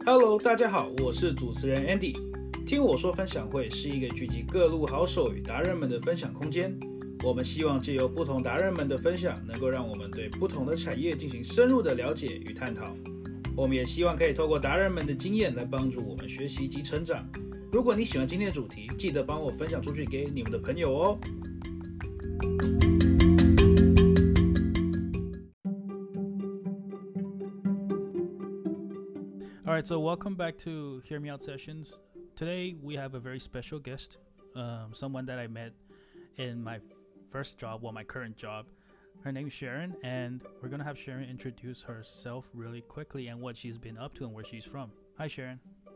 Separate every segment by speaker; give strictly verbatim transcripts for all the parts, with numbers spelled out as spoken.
Speaker 1: Hello， 大家好，我是主持人 Andy。聽我說分享會是一個聚集各路好手與達人們的分享空間。我們希望借由不同達人們的分享，能夠讓我們對不同的產業進行深入的了解與探討。我們也希望可以透過達人們的經驗來幫助我們學習及成長。如果你喜歡今天的主題，記得幫我分享出去給你們的朋友哦。All right, so welcome back to Hear Me Out Sessions. Today we have a very special guest, um, someone that I met in my first job, well, my current job. Her name is Sharon, and we're going to have Sharon introduce herself really quickly and what she's been up to and where she's from. Hi, Sharon.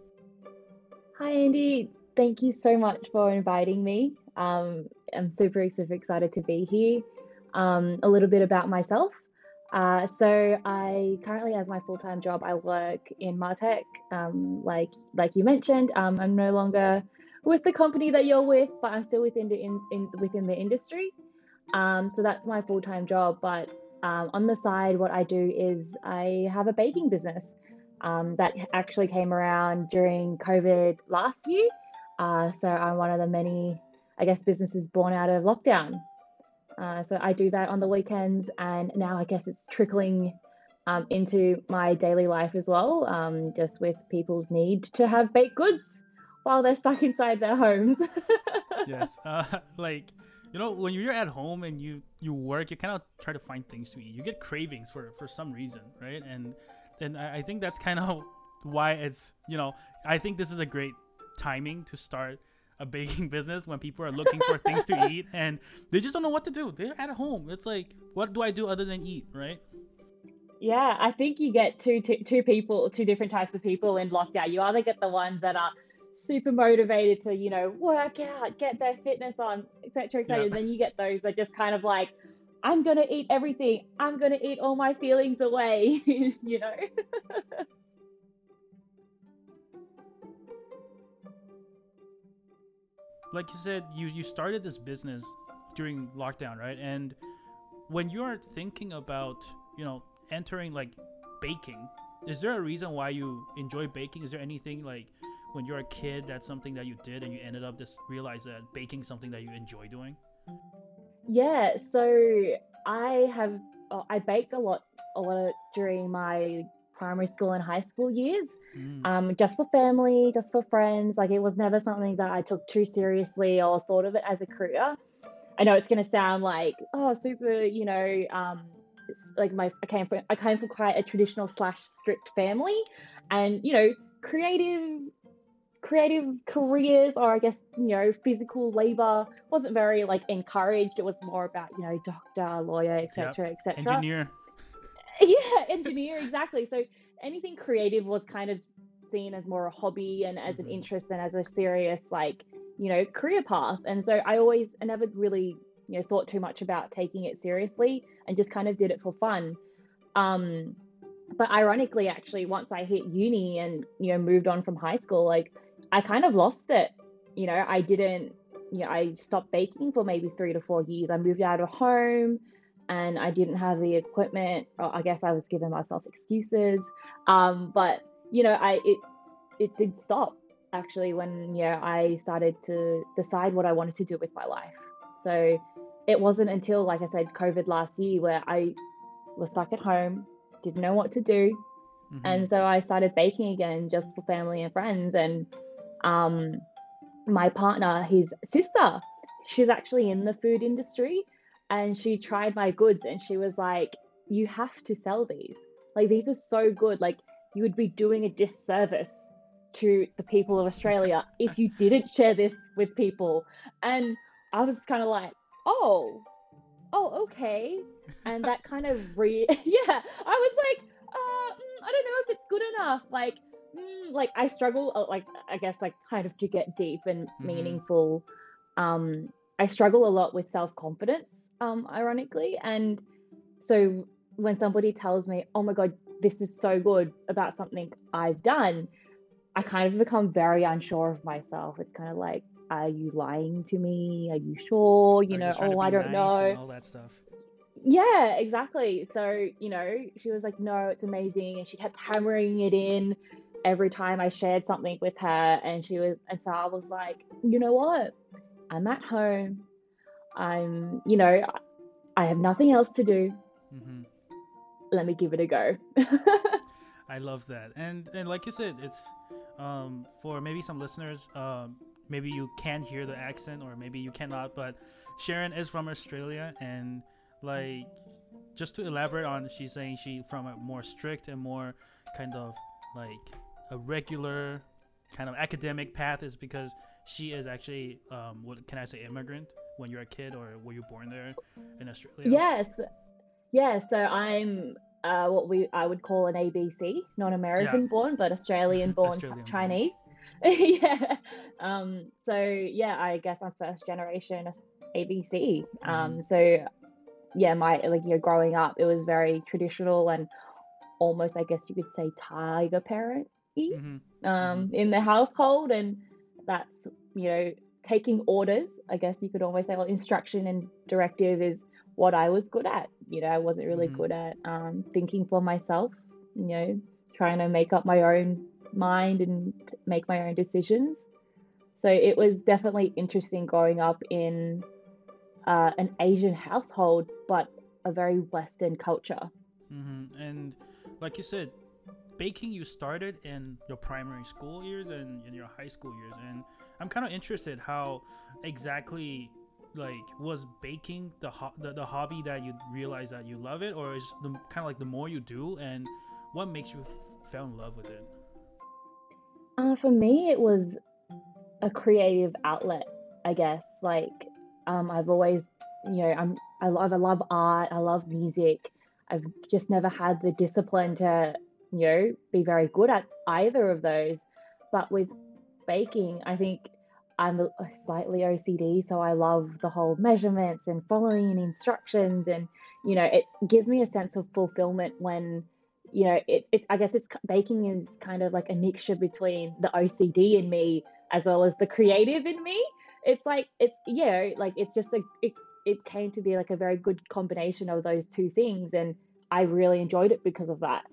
Speaker 2: Hi, Andy. Thank you so much for inviting me. Um, I'm super, super excited to be here. Um, a little bit about myself. Uh, so I currently, as my full-time job, I work in MarTech. Um, like like you mentioned, um, I'm no longer with the company that you're with, but I'm still within the in, in within the industry. Um, so that's my full-time job. But um, on the side, what I do is I have a baking business um, that actually came around during COVID last year. Uh, so I'm one of the many, I guess, businesses born out of lockdown. Uh, so I do that on the weekends, and now I guess it's trickling um, into my daily life as well, um, just with people's need to have baked goods while they're stuck inside their homes.
Speaker 1: Yes, uh, like, you know, when you're at home and you, you work, you kind of try to find things to eat. You get cravings for, for some reason, right? And and I, I think that's kind of why it's, you know, I think this is a great timing to start a baking business when people are looking for things to eat and they just don't know what to do. They're at home. It's like, what do I do other than eat, right?
Speaker 2: Yeah, I think you get two, two, two people, two different types of people in lockdown. You either get the ones that are super motivated to, you know, work out, get their fitness on, et cetera, et cetera.
Speaker 1: Yeah.
Speaker 2: And then you get those that just kind of like, I'm going to eat everything. I'm going to eat all my feelings away, you know?
Speaker 1: Like you said, you, you started this business during lockdown, right? And when you're thinking about, you know, entering like baking, is there a reason why you enjoy baking? Is there anything like when you're a kid, that's something that you did and you ended up just realize that baking is something that you enjoy doing?
Speaker 2: Yeah, so I have, oh, I baked a lot, a lot of, during my primary school and high school years,
Speaker 1: Mm.
Speaker 2: um, just for family, just for friends. Like it was never something that I took too seriously or thought of it as a career. I know it's going to sound like, oh, super, you know, um, it's like my, I came from, I came from quite a traditional slash strict family, and, you know, creative, creative careers, or I guess, you know, physical labor wasn't very like encouraged. It was more about, you know, doctor, lawyer, et cetera,
Speaker 1: Yep.
Speaker 2: et cetera.
Speaker 1: Engineer.
Speaker 2: Yeah, engineer, exactly. So anything creative was kind of seen as more a hobby and as
Speaker 1: Mm-hmm.
Speaker 2: an interest than as a serious, like, you know, career path. And so I always, I never really, you know, thought too much about taking it seriously and just kind of did it for fun. Um, but ironically, actually, once I hit uni and, you know, moved on from high school, like I kind of lost it. You know, I didn't, you know, I stopped baking for maybe three to four years. I moved out of home, and I didn't have the equipment. Or I guess I was giving myself excuses. Um, but you know, I it it did stop actually when, you know, I started to decide what I wanted to do with my life. So it wasn't until, like I said, COVID last year where I was stuck at home, didn't know what to do,
Speaker 1: Mm-hmm.
Speaker 2: and so I started baking again just for family and friends. And um, my partner, his sister, she's actually in the food industry. And she tried my goods and she was like, you have to sell these. Like, these are so good. Like, you would be doing a disservice to the people of Australia if you didn't share this with people. And I was kind of like, oh, oh, okay. And that kind of re, yeah, I was like, uh, mm, I don't know if it's good enough. Like, mm, like I struggle, uh, like, I guess, like, kind of to get deep and
Speaker 1: Mm-hmm.
Speaker 2: meaningful. Um, I struggle a lot with self-confidence, um, ironically. And so when somebody tells me, oh my God, this is so good about something I've done, I kind of become very unsure of myself. It's kind of like, are you lying to me? Are you sure? You
Speaker 1: Or
Speaker 2: know,
Speaker 1: just trying to
Speaker 2: oh,
Speaker 1: be
Speaker 2: I don't
Speaker 1: nice
Speaker 2: know.
Speaker 1: and all that stuff.
Speaker 2: Yeah, exactly. So, you know, she was like, no, it's amazing. And she kept hammering it in. every time I shared something with her, and she was, and so I was like, you know what? I'm at home. I'm, you know, I have nothing else to do.
Speaker 1: Mm-hmm.
Speaker 2: Let me give it a go.
Speaker 1: I love that, and and like you said, it's um, for maybe some listeners, um, maybe you can hear the accent, or maybe you cannot. But Sharon is from Australia, and like just to elaborate on, she's saying she from a more strict and more kind of like a regular kind of academic path is because she is actually um, what can I say, immigrant when you're a kid, or were you born there in Australia?
Speaker 2: Yes. Yeah, so I'm uh, what we I would call an A B C, not
Speaker 1: Yeah,
Speaker 2: American born, but Australian born
Speaker 1: Australian born.
Speaker 2: Chinese. Yeah. Um, so yeah, I guess I'm first generation A B C.
Speaker 1: Mm-hmm.
Speaker 2: Um, so yeah, my like you know, growing up, it was very traditional and almost, I guess you could say, tiger parent
Speaker 1: Mm-hmm. Mm-hmm.
Speaker 2: um in the household, and that's you know taking orders, I guess you could almost say. Well, instruction and directive is what I was good at. you know I wasn't really
Speaker 1: Mm-hmm.
Speaker 2: good at um thinking for myself, you know trying to make up my own mind and make my own decisions. So it was definitely interesting growing up in uh, an Asian household, but a very Western culture.
Speaker 1: Mm-hmm. And like you said, baking you started in your primary school years and in your high school years, and I'm kind of interested how exactly like was baking the, ho- the the hobby that you realize that you love it, or is the kind of like the more you do, and what makes you f- fell in love with it?
Speaker 2: Uh, for me, it was a creative outlet, I guess. Like, um, I've always, you know, I'm I love I love art, I love music. I've just never had the discipline to, you know, be very good at either of those. But with baking, I think I'm a- slightly O C D, so I love the whole measurements and following instructions, and you know, it gives me a sense of fulfillment when, you know, it, it's I guess it's baking is kind of like a mixture between the O C D in me as well as the creative in me. It's like it's yeah, like it's just a it, it came to be like a very good combination of those two things, and I really enjoyed it because of that.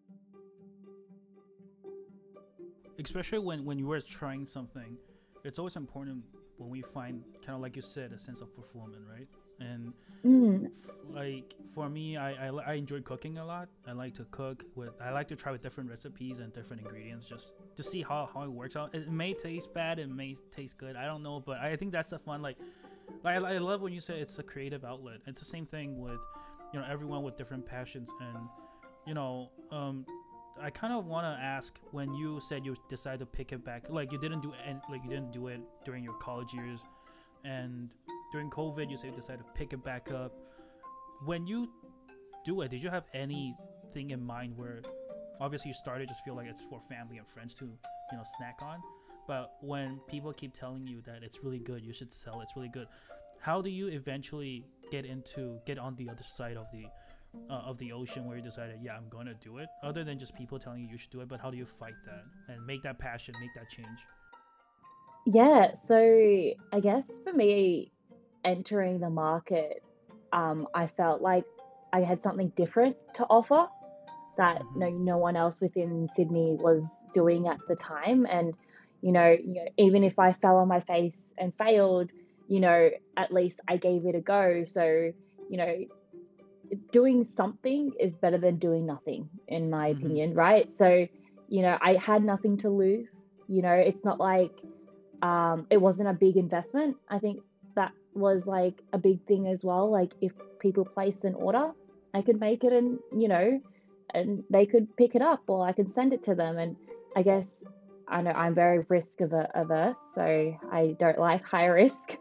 Speaker 1: Especially when when you were trying something, it's always important when we find kind of like you said a sense of fulfillment, right? And
Speaker 2: Mm,
Speaker 1: f- like for me, I, I I enjoy cooking a lot. I like to cook with I like to try with different recipes and different ingredients just to see how, how it works out. It may taste bad, it may taste good, I don't know, but I think that's the fun. Like like I, I love when you say it's a creative outlet. It's the same thing with you know everyone with different passions. And you know um I kind of want to ask, when you said you decided to pick it back, like you didn't do and like you didn't do it during your college years, and during COVID you said you decided to pick it back up. When you do it, did you have anything in mind where obviously you started just feel like it's for family and friends to you know snack on, but when people keep telling you that it's really good, you should sell, it's really good, how do you eventually get into get on the other side of the uh, of the ocean where you decided, yeah, I'm gonna do it, other than just people telling you you should do it? But how do you fight that and make that passion, make that change?
Speaker 2: yeah, so I guess for me, entering the market, um, I felt like I had something different to offer that
Speaker 1: Mm-hmm.
Speaker 2: no no one else within Sydney was doing at the time. And you know, you know, even if I fell on my face and failed, you know, at least I gave it a go. So, you know, doing something is better than doing nothing, in my
Speaker 1: Mm-hmm.
Speaker 2: opinion, right? So, you know, I had nothing to lose. You know, it's not like um, it wasn't a big investment. I think that was like a big thing as well. Like if people placed an order, I could make it, and you know, and they could pick it up, or I can send it to them. And I guess I know I'm very risk averse, so I don't like high risk.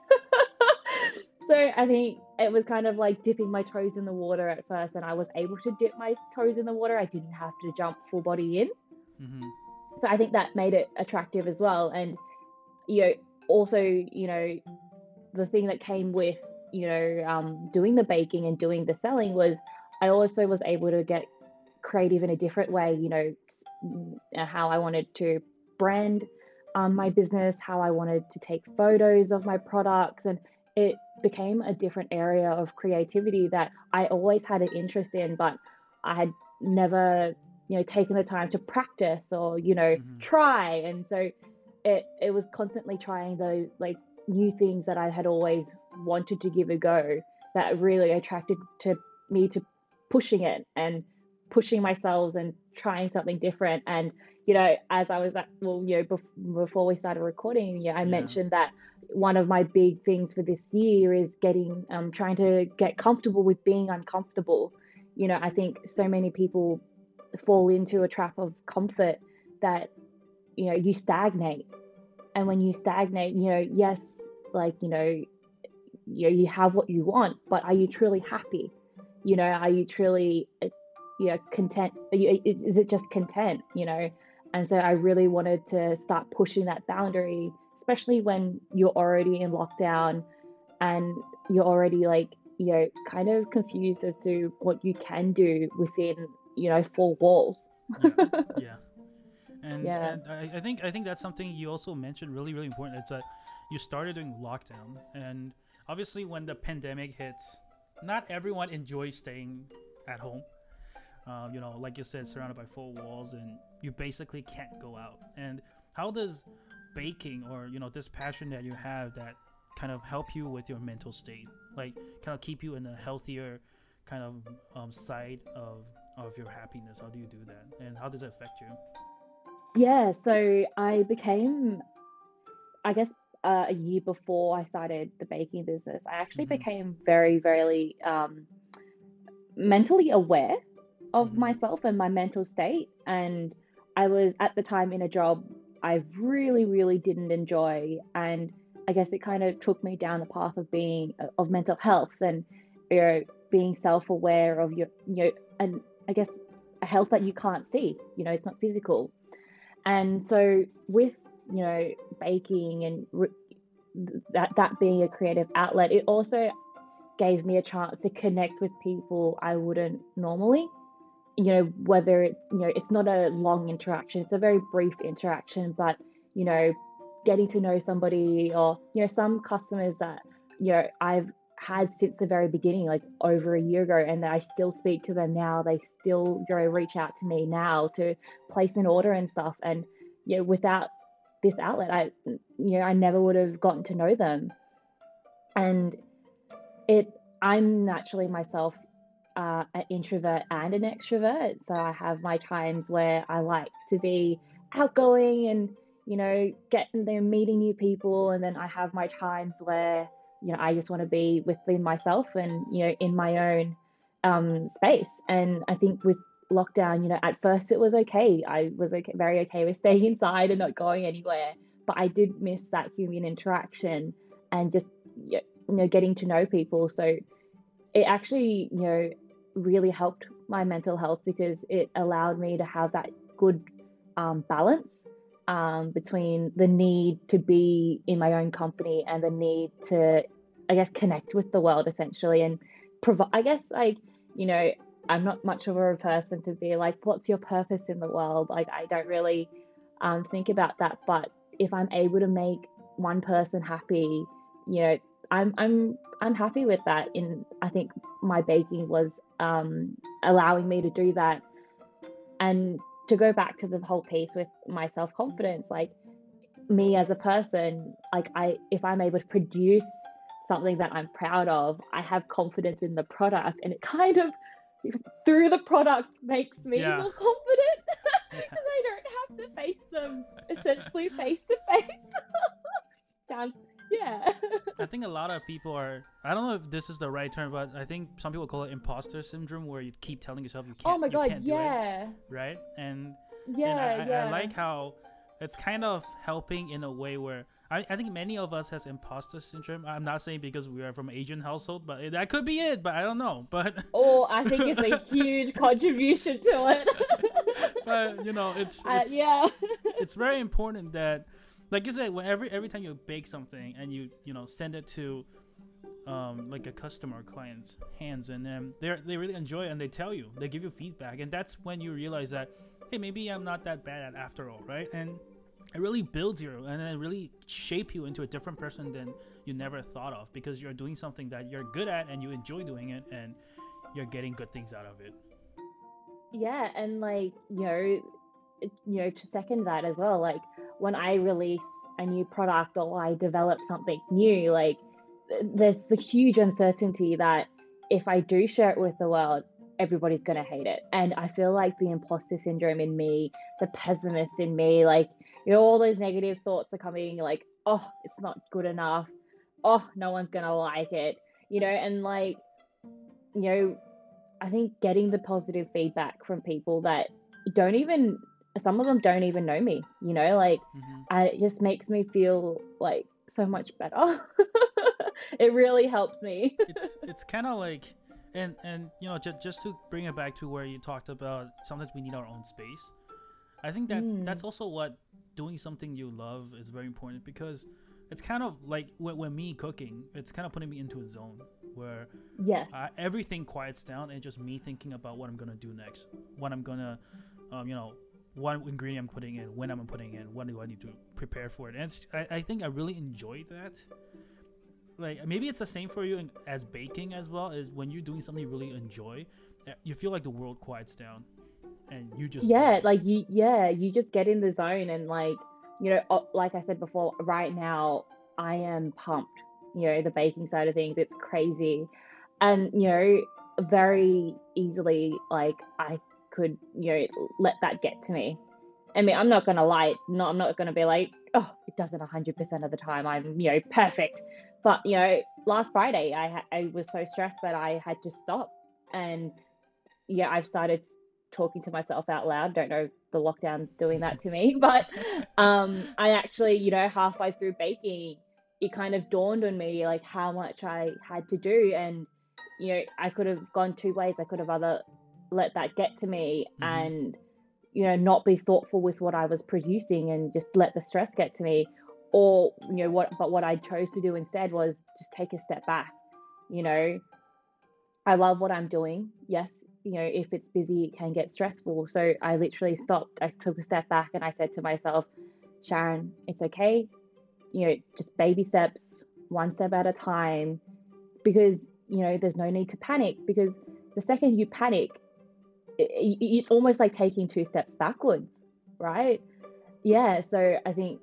Speaker 2: So I think it was kind of like dipping my toes in the water at first, and I was able to dip my toes in the water. I didn't have to jump full body in.
Speaker 1: Mm-hmm.
Speaker 2: So I think that made it attractive as well. And you know, also, you know, the thing that came with, you know, um, doing the baking and doing the selling was I also was able to get creative in a different way, you know, how I wanted to brand um, my business, how I wanted to take photos of my products. And it became a different area of creativity that I always had an interest in, but I had never you know, taken the time to practice or, you know,
Speaker 1: Mm-hmm.
Speaker 2: try. And so it it was constantly trying those like new things that I had always wanted to give a go that really attracted to me to pushing it and pushing myself and trying something different. And you know, as I was at, well, you know, bef- before we started recording, yeah, I
Speaker 1: Yeah.
Speaker 2: mentioned that one of my big things for this year is getting um trying to get comfortable with being uncomfortable. You know, I think so many people fall into a trap of comfort that, you know, you stagnate. And when you stagnate, you know, yes, like, you know, you know, you have what you want, but are you truly happy? You know, are you truly, uh, you know, content? Are you, is it just content? You know, and so I really wanted to start pushing that boundary, especially when you're already in lockdown and you're already like, you know, kind of confused as to what you can do within, you know, four walls.
Speaker 1: Yeah. Yeah. And
Speaker 2: Yeah.
Speaker 1: and I, I think I think that's something you also mentioned really really important. It's that you started doing lockdown, and obviously when the pandemic hits, not everyone enjoys staying at home. Um, you know, like you said, surrounded by four walls, and you basically can't go out. And how does baking, or you know, this passion that you have, that kind of help you with your mental state, like kind of keep you in a healthier kind of um, side of of your happiness? How do you do that, and how does it affect you?
Speaker 2: Yeah. So I became, I guess, uh, a year before I started the baking business, I actually
Speaker 1: Mm-hmm.
Speaker 2: became very, very um, mentally aware of
Speaker 1: Mm-hmm.
Speaker 2: myself and my mental state. And I was at the time in a job I really, really didn't enjoy. And I guess it kind of took me down the path of being, of mental health and, you know, being self aware of your, you know, and I guess a health that you can't see, you know, it's not physical. And so with, you know, baking and re- that that being a creative outlet, it also gave me a chance to connect with people I wouldn't normally. You know, whether it's, you know, it's not a long interaction, it's a very brief interaction, but you know, getting to know somebody, or you know, some customers that, you know, I've had since the very beginning, like over a year ago, and I still speak to them now. They still, you know, reach out to me now to place an order and stuff. And you know, without this outlet, I, you know, I never would have gotten to know them. And it, I'm naturally myself uh, an introvert and an extrovert. So I have my times where I like to be outgoing and, you know, getting there, meeting new people. And then I have my times where, you know, I just want to be within myself and, you know, in my own um, space. And I think with lockdown, you know, at first it was okay. I was okay, very okay with staying inside and not going anywhere. But I did miss that human interaction and just, you know, getting to know people. So it actually, you know, really helped my mental health because it allowed me to have that good um, balance um, between the need to be in my own company and the need to, I guess, connect with the world essentially and provide. I guess, like, you know, I'm not much of a person to be like, what's your purpose in the world? Like, I don't really um, think about that. But if I'm able to make one person happy, you know, I'm I'm I'm happy with that. In I think my baking was um, allowing me to do that. And to go back to the whole piece with my self confidence, like me as a person, like I, if I'm able to produce something that I'm proud of, I have confidence in the product, and it kind of through the product makes me
Speaker 1: Yeah.
Speaker 2: more confident
Speaker 1: Yeah.
Speaker 2: because I don't have to face them essentially face to face. Sounds, yeah.
Speaker 1: I think a lot of people are. I don't know if this is the right term, but I think some people call it imposter syndrome, where you keep telling yourself you
Speaker 2: Oh
Speaker 1: can't,
Speaker 2: my
Speaker 1: you
Speaker 2: god,
Speaker 1: can't do it,
Speaker 2: yeah.
Speaker 1: right? And and
Speaker 2: Yeah,
Speaker 1: I, I I
Speaker 2: yeah.
Speaker 1: like how it's kind of helping in a way where I, I think many of us has imposter syndrome. I'm not saying because we are from Asian household, but it, that could be it. But I don't know. But
Speaker 2: Oh, I think it's a huge contribution to it.
Speaker 1: but you know, it's
Speaker 2: uh,
Speaker 1: it's
Speaker 2: yeah.
Speaker 1: it's very important that, like you said, when every every time you bake something and you you know send it to um, like a customer or client's hands, and then they they really enjoy it and they tell you, they give you feedback, and that's when you realize that, hey, maybe I'm not that bad at after all, right? And it really builds you and then really shape you into a different person than you never thought of, because you're doing something that you're good at and you enjoy doing it, and you're getting good things out of it.
Speaker 2: Yeah, and like, you know, it- you know, to second that as well, like when I release a new product or I develop something new, like th- there's the huge uncertainty that if I do share it with the world, everybody's going to hate it. And I feel like the imposter syndrome in me, the pessimist in me, like, you know, all those negative thoughts are coming like, oh, it's not good enough. Oh, no one's going to like it, you know, and like, you know, I think getting the positive feedback from people that don't even, some of them don't even know me, you know, like
Speaker 1: Hmm.
Speaker 2: I, it just makes me feel like so much better. It really helps me.
Speaker 1: It's it's kind of like, and and you know, just just to bring it back to where you talked about, sometimes we need our own space. I think that
Speaker 2: Mm,
Speaker 1: that's also what doing something you love is very important, because it's kind of like when, when me cooking, it's kind of putting me into a zone where
Speaker 2: yes.
Speaker 1: uh, everything quiets down and just me thinking about what I'm gonna do next, what I'm gonna, um, you know, what ingredient I'm putting in, when I'm putting in, what do I need to prepare for it. And it's, I, I think I really enjoy that. Like maybe it's the same for you in, as baking as well. Is when you're doing something you really enjoy, uh, you feel like the world quiets down and you just
Speaker 2: Yeah,
Speaker 1: go.
Speaker 2: like you, yeah, you just get in the zone and like, you know, o- like I said before, right now I am pumped. You know, the baking side of things, it's crazy. And, you know, very easily, like I could, you know, let that get to me. I mean, I'm not gonna lie, no, I'm not gonna be like, oh, it does it one hundred percent of the time. I'm, you know, perfect. But, you know, last Friday, I ha- I was so stressed that I had to stop. And yeah, I've started talking to myself out loud. Don't know if the lockdown's doing that to me, but um, I actually, you know, halfway through baking, it kind of dawned on me like how much I had to do, and you know, I could have gone two ways. I could have either let that get to me
Speaker 1: Mm-hmm.
Speaker 2: and you know not be thoughtful with what I was producing and just let the stress get to me, or you know what. But what I chose to do instead was just take a step back. You know, I love what I'm doing. Yes, you know, if it's busy, it can get stressful. So I literally stopped. I took a step back and I said to myself, Sharon, it's okay. You know, just baby steps, one step at a time, because, you know, there's no need to panic because the second you panic, it, it's almost like taking two steps backwards, right? Yeah. So I think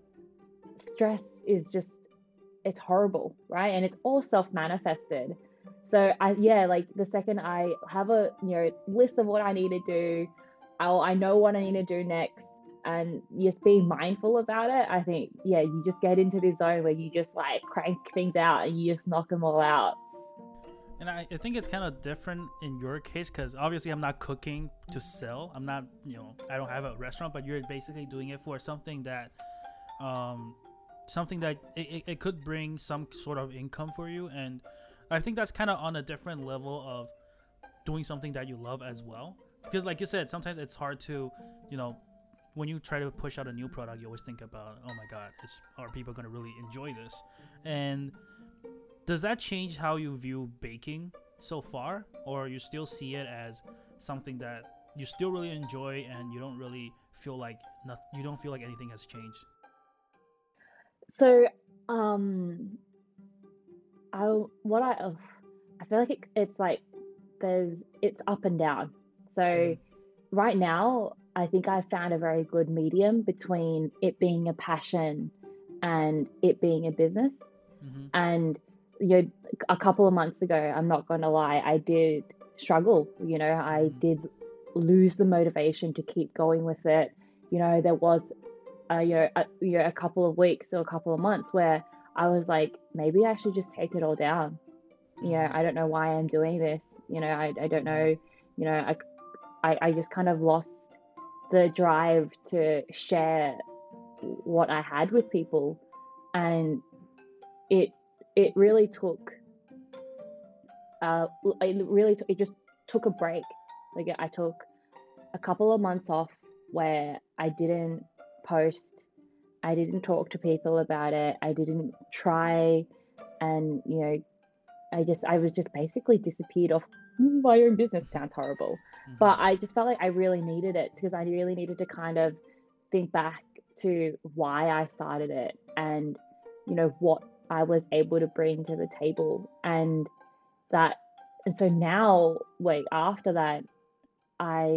Speaker 2: stress is just it's horrible, right? And it's all self-manifested. So I yeah, like the second I have a you know list of what I need to do, I'll I know what I need to do next, and just being mindful about it. I think yeah, you just get into this zone where you just like crank things out and you just knock them all out.
Speaker 1: And I, I think it's kind of different in your case, because obviously I'm not cooking to sell. I'm not, you know, I don't have a restaurant, but you're basically doing it for something that, um, something that it, it, it could bring some sort of income for you. And I think that's kind of on a different level of doing something that you love as well. Because, like you said, sometimes it's hard to, you know, when you try to push out a new product, you always think about, oh my God, is, are people going to really enjoy this? And does that change how you view baking so far, or you still see it as something that you still really enjoy and you don't really feel like not, you don't feel like anything has changed?
Speaker 2: So um I what I ugh, I feel like it, it's like there's it's up and down. So
Speaker 1: Mm-hmm.
Speaker 2: right now, I think I've found a very good medium between it being a passion and it being a business.
Speaker 1: Mm-hmm.
Speaker 2: And you know, a couple of months ago, I'm not going to lie, I did struggle. You know, I
Speaker 1: Mm-hmm.
Speaker 2: did lose the motivation to keep going with it. You know, there was a, you know, a, you know, a couple of weeks or a couple of months where I was like, maybe I should just take it all down. You know,
Speaker 1: Mm-hmm.
Speaker 2: I don't know why I'm doing this. You know, I, I don't
Speaker 1: Mm-hmm.
Speaker 2: know. You know, I, I, I just kind of lost the drive to share what I had with people, and it it really took uh it really t- it just took a break. Like I took a couple of months off where I didn't post, I didn't talk to people about it, I didn't try, and you know I just I was just basically disappeared off my own business. Sounds horrible,
Speaker 1: Mm-hmm.
Speaker 2: but I just felt like I really needed it because I really needed to kind of think back to why I started it and you know what I was able to bring to the table, and that and so now wait after that I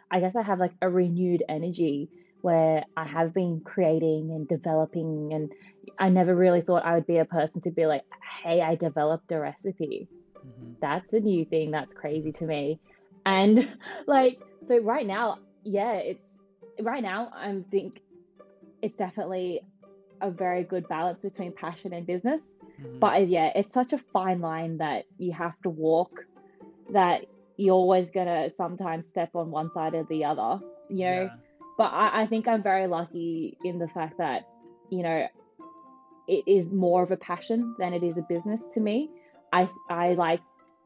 Speaker 2: I guess I have like a renewed energy where I have been creating and developing, and I never really thought I would be a person to be like, hey, I developed a recipe.
Speaker 1: Mm-hmm.
Speaker 2: That's a new thing. That's crazy to me. And like, so right now, yeah, it's right now, I think it's definitely a very good balance between passion and business.
Speaker 1: Mm-hmm.
Speaker 2: But yeah, it's such a fine line that you have to walk, that you're always gonna sometimes step on one side or the other, you know.
Speaker 1: Yeah.
Speaker 2: But I, I think I'm very lucky in the fact that, you know, it is more of a passion than it is a business to me. I, I like,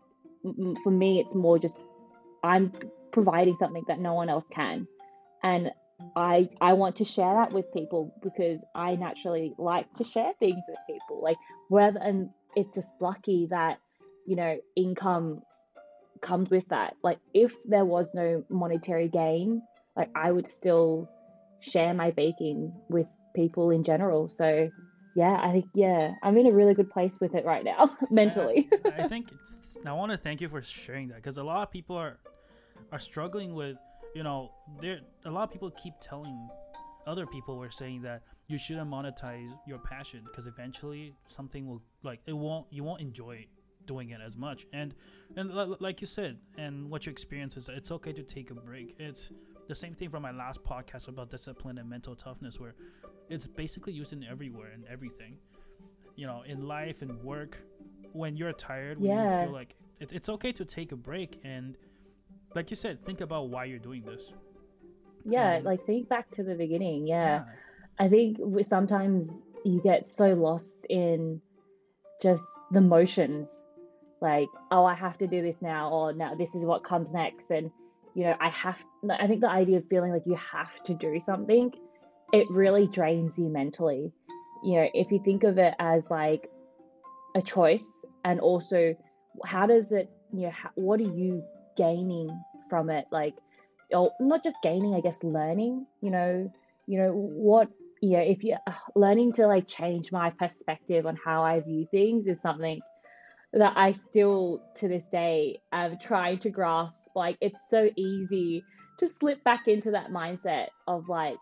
Speaker 2: for me, it's more just I'm providing something that no one else can. And I I want to share that with people because I naturally like to share things with people. Like whether and it's just lucky that, you know, income comes with that. Like if there was no monetary gain, like I would still share my baking with people in general. So yeah, I think yeah, I'm in a really good place with it right now mentally.
Speaker 1: I, I think I want to thank you for sharing that, because a lot of people are are struggling with, you know, there a lot of people keep telling other people were saying that you shouldn't monetize your passion because eventually something will, like, it won't you won't enjoy doing it as much. And and l- like you said, and what your experience is, it's okay to take a break. It's the same thing from my last podcast about discipline and mental toughness, where it's basically used in everywhere and everything, you know, in life and work. When you're tired, when
Speaker 2: Yeah.
Speaker 1: you feel like it, it's okay to take a break, and like you said, think about why you're doing this.
Speaker 2: Yeah,
Speaker 1: And
Speaker 2: like think back to the beginning. Yeah.
Speaker 1: yeah,
Speaker 2: I think we- sometimes you get so lost in just the motions, like, oh, I have to do this now, or now this is what comes next. And, you know, I have, I think the idea of feeling like you have to do something, it really drains you mentally. You know, if you think of it as like a choice, and also how does it, you know, how, what are you gaining from it? Like, or not just gaining, I guess, learning, you know, you know, what, you know, if you uh, learning to like change my perspective on how I view things is something that I still to this day am trying to grasp. Like, it's so easy to slip back into that mindset of like,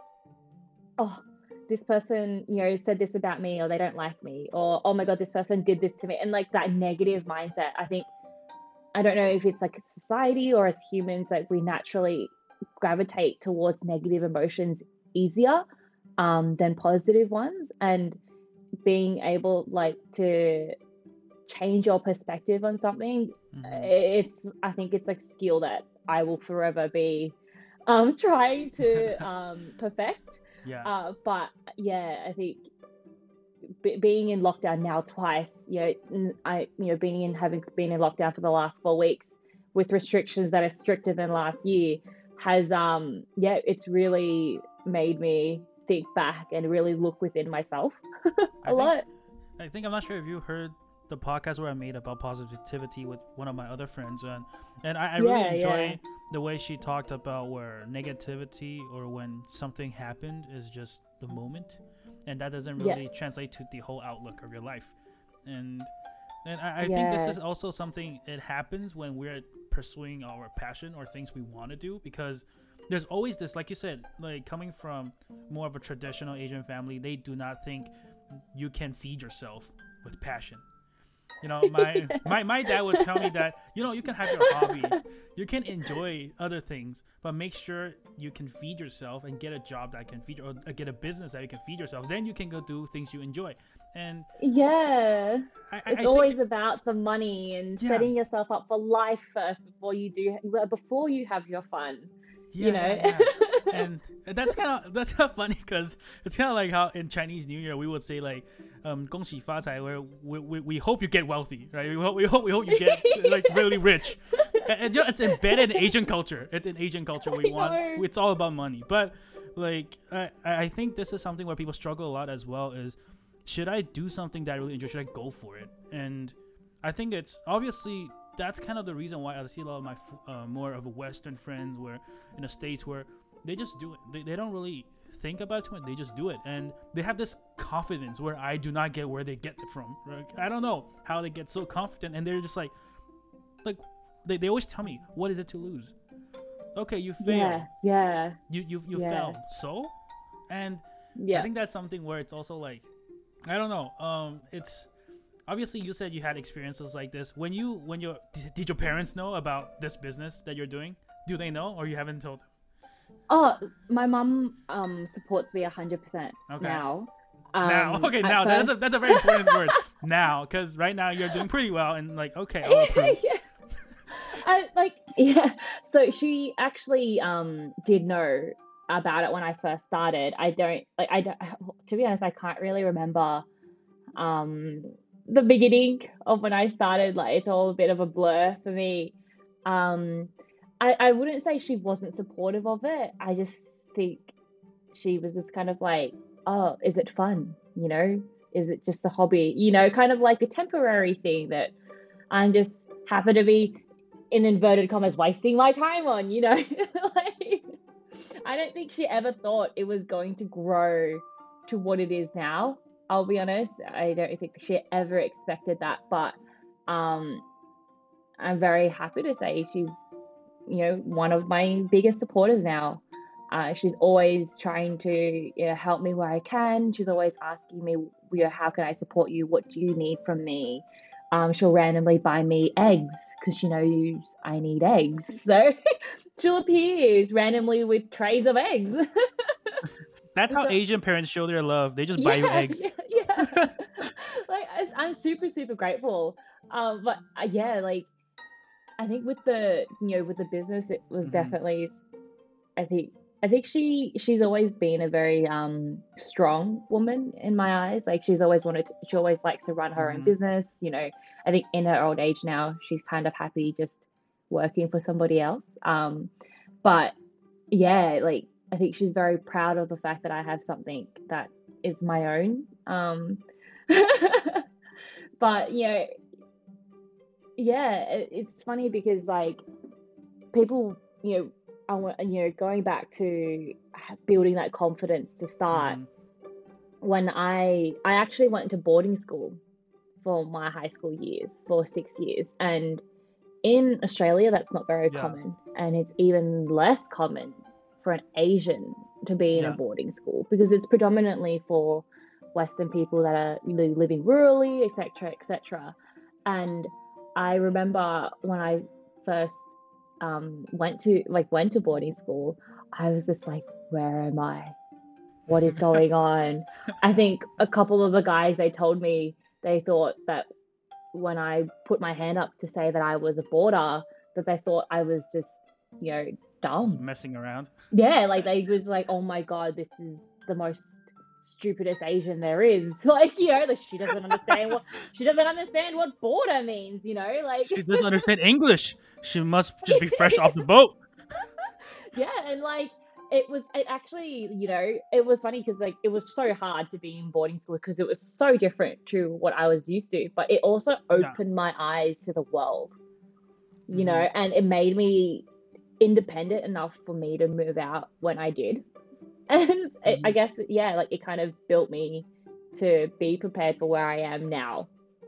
Speaker 2: oh, this person, you know, said this about me, or they don't like me, or oh my God, this person did this to me. And like that negative mindset, I think, I don't know if it's like society or as humans, like we naturally gravitate towards negative emotions easier um, than positive ones. And being able like to change your perspective on something,
Speaker 1: mm-hmm.
Speaker 2: it's, I think it's like a skill that I will forever be um, trying to um, perfect.
Speaker 1: yeah,
Speaker 2: Uh, but yeah, I think b- being in lockdown now twice, you know, n- I, you know, being in, having been in lockdown for the last four weeks with restrictions that are stricter than last year has, um, yeah, it's really made me think back and really look within myself a
Speaker 1: I think
Speaker 2: lot.
Speaker 1: I think I'm not sure if you heard the podcast where I made about positivity with one of my other friends, and and I, I really
Speaker 2: Yeah,
Speaker 1: enjoy
Speaker 2: yeah.
Speaker 1: the way she talked about where negativity or when something happened is just the moment, and that doesn't
Speaker 2: Yes.
Speaker 1: really translate to the whole outlook of your life. And and I, I think this
Speaker 2: Yeah.
Speaker 1: is also something, it happens when we're pursuing our passion or things we want to do, because there's always this, like you said, like coming from more of a traditional Asian family, they do not think you can feed yourself with passion. You know, my, my my dad would tell me that, you know, you can have your hobby, you can enjoy other things, but make sure you can feed yourself and get a job that can feed, or get a business that you can feed yourself. Then you can go do things you enjoy. And
Speaker 2: Yeah.
Speaker 1: I, I, I
Speaker 2: It's
Speaker 1: think,
Speaker 2: always about the money and
Speaker 1: Yeah.
Speaker 2: setting yourself up for life first before you do, well, before you have your fun.
Speaker 1: yeah,
Speaker 2: You know?
Speaker 1: yeah, yeah. And that's kind of that's kind of funny, because it's kind of like how in Chinese New Year we would say like, um, 恭喜发财, where we, we, we hope you get wealthy, right? We hope we hope we hope you get like really rich. And, and you know, it's embedded in Asian culture. It's in Asian culture. We
Speaker 2: I
Speaker 1: want
Speaker 2: know.
Speaker 1: it's all about money. But like I I think this is something where people struggle a lot as well. Is, should I do something that I really enjoy? Should I go for it? And I think it's obviously, that's kind of the reason why I see a lot of my uh, more of a Western friends where in the States where they just do it. They, they don't really think about it too much. They just do it. And they have this confidence where I do not get where they get it from. Right? I don't know how they get so confident. And they're just like, like they, they always tell me, what is it to lose? Okay, you failed.
Speaker 2: Yeah, yeah,
Speaker 1: You you you
Speaker 2: yeah,
Speaker 1: fell. So, and I
Speaker 2: yeah.
Speaker 1: think that's something where it's also like, I don't know. Um, it's obviously you said you had experiences like this. When you when you did your parents know about this business that you're doing? Do they know, or you haven't told
Speaker 2: Oh, my mum um supports me a hundred percent
Speaker 1: them? Okay.
Speaker 2: now.
Speaker 1: Now,
Speaker 2: Um,
Speaker 1: okay,
Speaker 2: at
Speaker 1: now that's a
Speaker 2: first,
Speaker 1: that's a very important word. Now, because right now you're doing pretty well, and like, okay, I'll approve.
Speaker 2: yeah, I like yeah. So she actually um did know about it when I first started. I don't like I don't to be honest, I can't really remember um the beginning of when I started. Like it's all a bit of a blur for me. Um I I wouldn't say she wasn't supportive of it. I just think she was just kind of like, "Oh, is it fun? You know? Is it just a hobby? You know, kind of like a temporary thing that I'm just happy to be in inverted commas wasting my time on, you know?" Like I don't think she ever thought it was going to grow to what it is now. I'll be honest. I don't think she ever expected that, but um I'm very happy to say she's, you know, one of my biggest supporters now. Uh, she's always trying to, you know, help me where I can. She's always asking me, you know, how can I support you? What do you need from me? Um, she'll randomly buy me eggs because she knows I need eggs. So she'll appear randomly with trays of eggs.
Speaker 1: That's how
Speaker 2: So
Speaker 1: Asian parents show their love. They just buy you
Speaker 2: yeah,
Speaker 1: eggs.
Speaker 2: yeah, yeah. Like I, I'm super, super grateful. Um, but uh, yeah, like I think with the, you know, with the business, it was
Speaker 1: Hmm.
Speaker 2: definitely I think I think she she's always been a very um strong woman in my eyes. Like she's always wanted to, she always likes to run her own
Speaker 1: Hmm.
Speaker 2: business, you know. I think in her old age now, she's kind of happy just working for somebody else. Um but yeah, like I think she's very proud of the fact that I have something that is my own. Um but you know, yeah, it, it's funny because like people, you know, I want, you know, going back to building that confidence to start.
Speaker 1: Hmm.
Speaker 2: When I I actually went to boarding school for my high school years for six years, and in Australia that's not very
Speaker 1: Yeah.
Speaker 2: common, and it's even less common for an Asian to be in a
Speaker 1: Yeah.
Speaker 2: boarding school because it's predominantly for Western people that are, you know, living rurally, et cetera, et cetera. And I remember when I first um, went to like went to boarding school, I was just like, where am I? What is going on? I think a couple of the guys they told me they thought that when I put my hand up to say that I was a boarder, that they thought I was just, you know,
Speaker 1: Just
Speaker 2: dumb.
Speaker 1: messing around.
Speaker 2: Yeah, like they was like, oh my god, this is the most stupidest Asian there is. Like, you know, like she doesn't understand what she doesn't understand what border means, you know, like
Speaker 1: She doesn't understand English. She must just be fresh off the boat.
Speaker 2: yeah, and like it was it actually, you know, it was funny because like it was so hard to be in boarding school because it was so different to what I was used to, but it also
Speaker 1: Yeah.
Speaker 2: opened my eyes to the world, you
Speaker 1: Hmm.
Speaker 2: know, and it made me independent enough for me to move out when I did. And it, I
Speaker 1: Hmm.
Speaker 2: guess, yeah, like it kind of built me to be prepared for where I am now.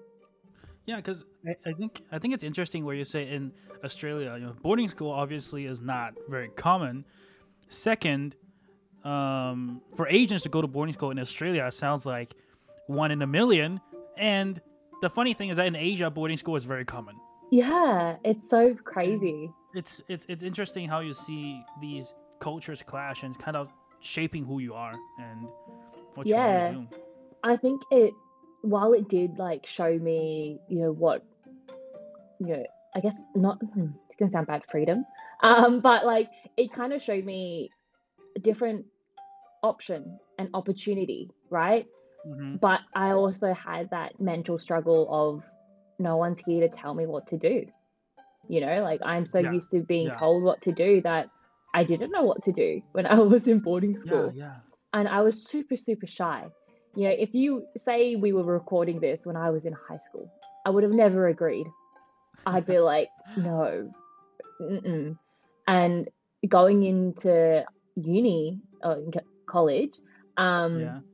Speaker 1: Yeah, because I, I think I think it's interesting where you say in Australia, you know, boarding school obviously is not very common. Second, um, for Asians to go to boarding school in Australia sounds like one in a million. And the funny thing is that in Asia, boarding school is very common.
Speaker 2: Yeah, it's so
Speaker 1: And
Speaker 2: crazy.
Speaker 1: it's it's it's interesting how you see these cultures clash and it's kind of shaping who you are and what you want to
Speaker 2: Yeah,
Speaker 1: do.
Speaker 2: I think it, while it did like show me, you know, what, you know, I guess not, hmm, it's gonna sound bad, freedom, um, but like it kind of showed me different options and opportunity, right?
Speaker 1: Hmm.
Speaker 2: But I also had that mental struggle of no one's here to tell me what to do. You know, like I'm so
Speaker 1: Yeah,
Speaker 2: used to being
Speaker 1: yeah,
Speaker 2: told what to do that I didn't know what to do when I was in boarding
Speaker 1: yeah,
Speaker 2: school.
Speaker 1: yeah.
Speaker 2: And I was super, super shy. You know, if you say we were recording this when I was in high school, I would have never agreed. I'd be like, no, mm-mm. And going into uni or college, um,
Speaker 1: Yeah.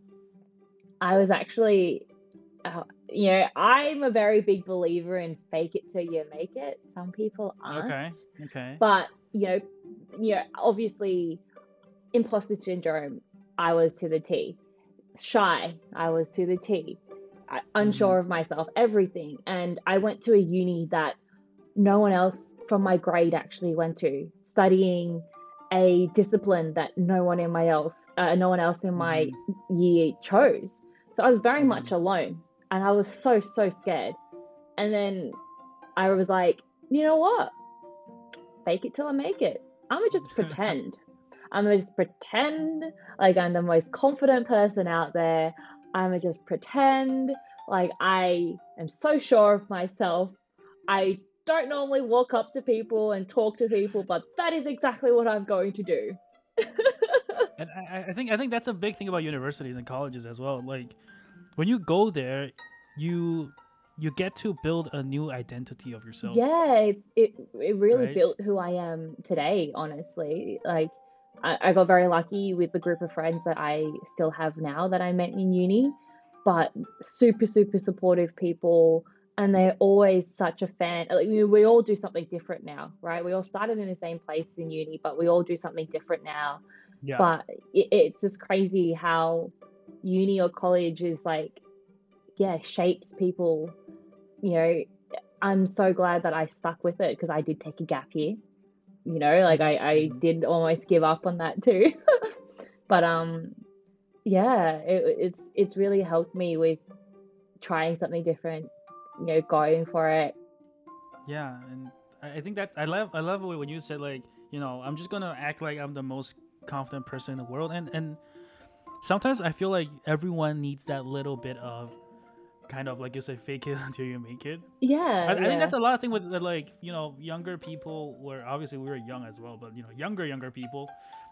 Speaker 2: I was actually, uh, you know, I'm a very big believer in fake it till you make it. Some people aren't.
Speaker 1: Okay. Okay.
Speaker 2: But, you know, you know, obviously imposter syndrome, I was to the T. Shy, I was to the T.
Speaker 1: Mm-hmm.
Speaker 2: Unsure of myself, everything. And I went to a uni that no one else from my grade actually went to, studying a discipline that no one in my else, uh, no one else in my
Speaker 1: Mm-hmm.
Speaker 2: year chose. So I was very
Speaker 1: Mm-hmm.
Speaker 2: much alone, and I was so so scared. And then I was like, you know what? Fake it till I make it. I'ma just pretend. I'ma just pretend like I'm the most confident person out there. I'ma just pretend like I am so sure of myself. I don't normally walk up to people and talk to people, but that is exactly what I'm going to do.
Speaker 1: And I, I think I think that's a big thing about universities and colleges as well. Like when you go there, you you get to build a new identity of yourself,
Speaker 2: Yeah, it's it it really
Speaker 1: right?
Speaker 2: built who I am today, honestly. Like I, I got very lucky with the group of friends that I still have now that I met in uni, but super, super supportive people, and they're always such a fan. Like, we, we all do something different now, right? We all started in the same place in uni, but we all do something different now.
Speaker 1: Yeah.
Speaker 2: But it, it's just crazy how uni or college is like, yeah, shapes people, you know. I'm so glad that I stuck with it because I did take a gap year. You know, like
Speaker 1: Mm-hmm.
Speaker 2: I, I
Speaker 1: Mm-hmm.
Speaker 2: did almost give up on that too. But um, yeah, it, it's it's really helped me with trying something different. You know, going for it.
Speaker 1: Yeah, and I I think that I love I love when you said like you know I'm just gonna act like I'm the most confident person in the world, and and sometimes I feel like everyone needs that little bit of kind of like you say fake it until you make it. I,
Speaker 2: Yeah,
Speaker 1: I think
Speaker 2: yeah.
Speaker 1: that's a lot of thing with uh, like you know younger people where obviously we were young as well, but you know younger younger people,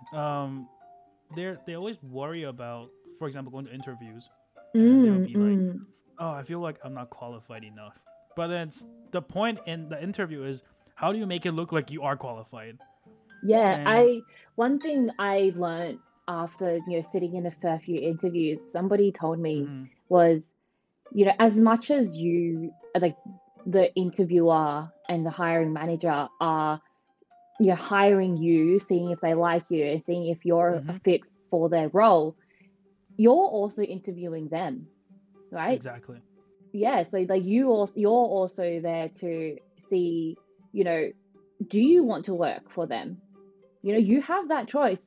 Speaker 1: um, they're they always worry about, for example, going to interviews, and they'll
Speaker 2: Mm,
Speaker 1: be like,
Speaker 2: mm.
Speaker 1: oh, I feel like I'm not qualified enough. But then it's, the point in the interview is how do you make it look like you are qualified?
Speaker 2: Yeah,
Speaker 1: And
Speaker 2: I one thing I learned after, you know, sitting in a fair few interviews, somebody told me
Speaker 1: mm-hmm,
Speaker 2: was, you know, as much as you, like the interviewer and the hiring manager are, you know, hiring you, seeing if they like you and seeing if you're a
Speaker 1: mm-hmm,
Speaker 2: fit for their role, you're also interviewing them, right?
Speaker 1: exactly,
Speaker 2: Yeah, so like you also you're also there to see, you know, do you want to work for them? You know, you have that choice.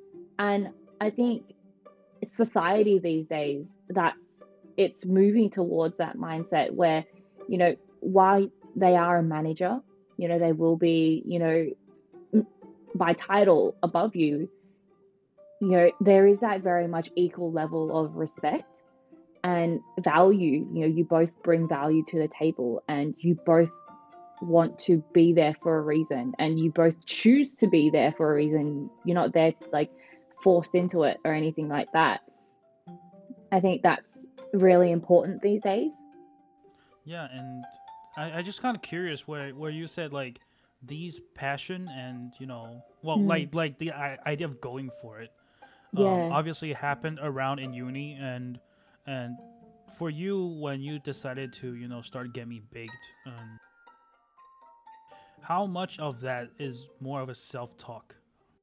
Speaker 2: And I think society these days, that's it's moving towards that mindset where, you know, while they are a manager, you know, they will be, you know, by title above you, you know, there is that very much equal level of respect and value. You know, you both bring value to the table and you both want to be there for a reason and you both choose to be there for a reason. You're not there like forced into it or anything like that. I think that's really important these days.
Speaker 1: yeah. And I, I just kind of curious where where you said like these passion and you know well
Speaker 2: Mm,
Speaker 1: like like the I, idea of going for it um
Speaker 2: yeah.
Speaker 1: obviously happened around in uni and and for you when you decided to you know start Get Me Baked, um, how much of that is more of a self-talk,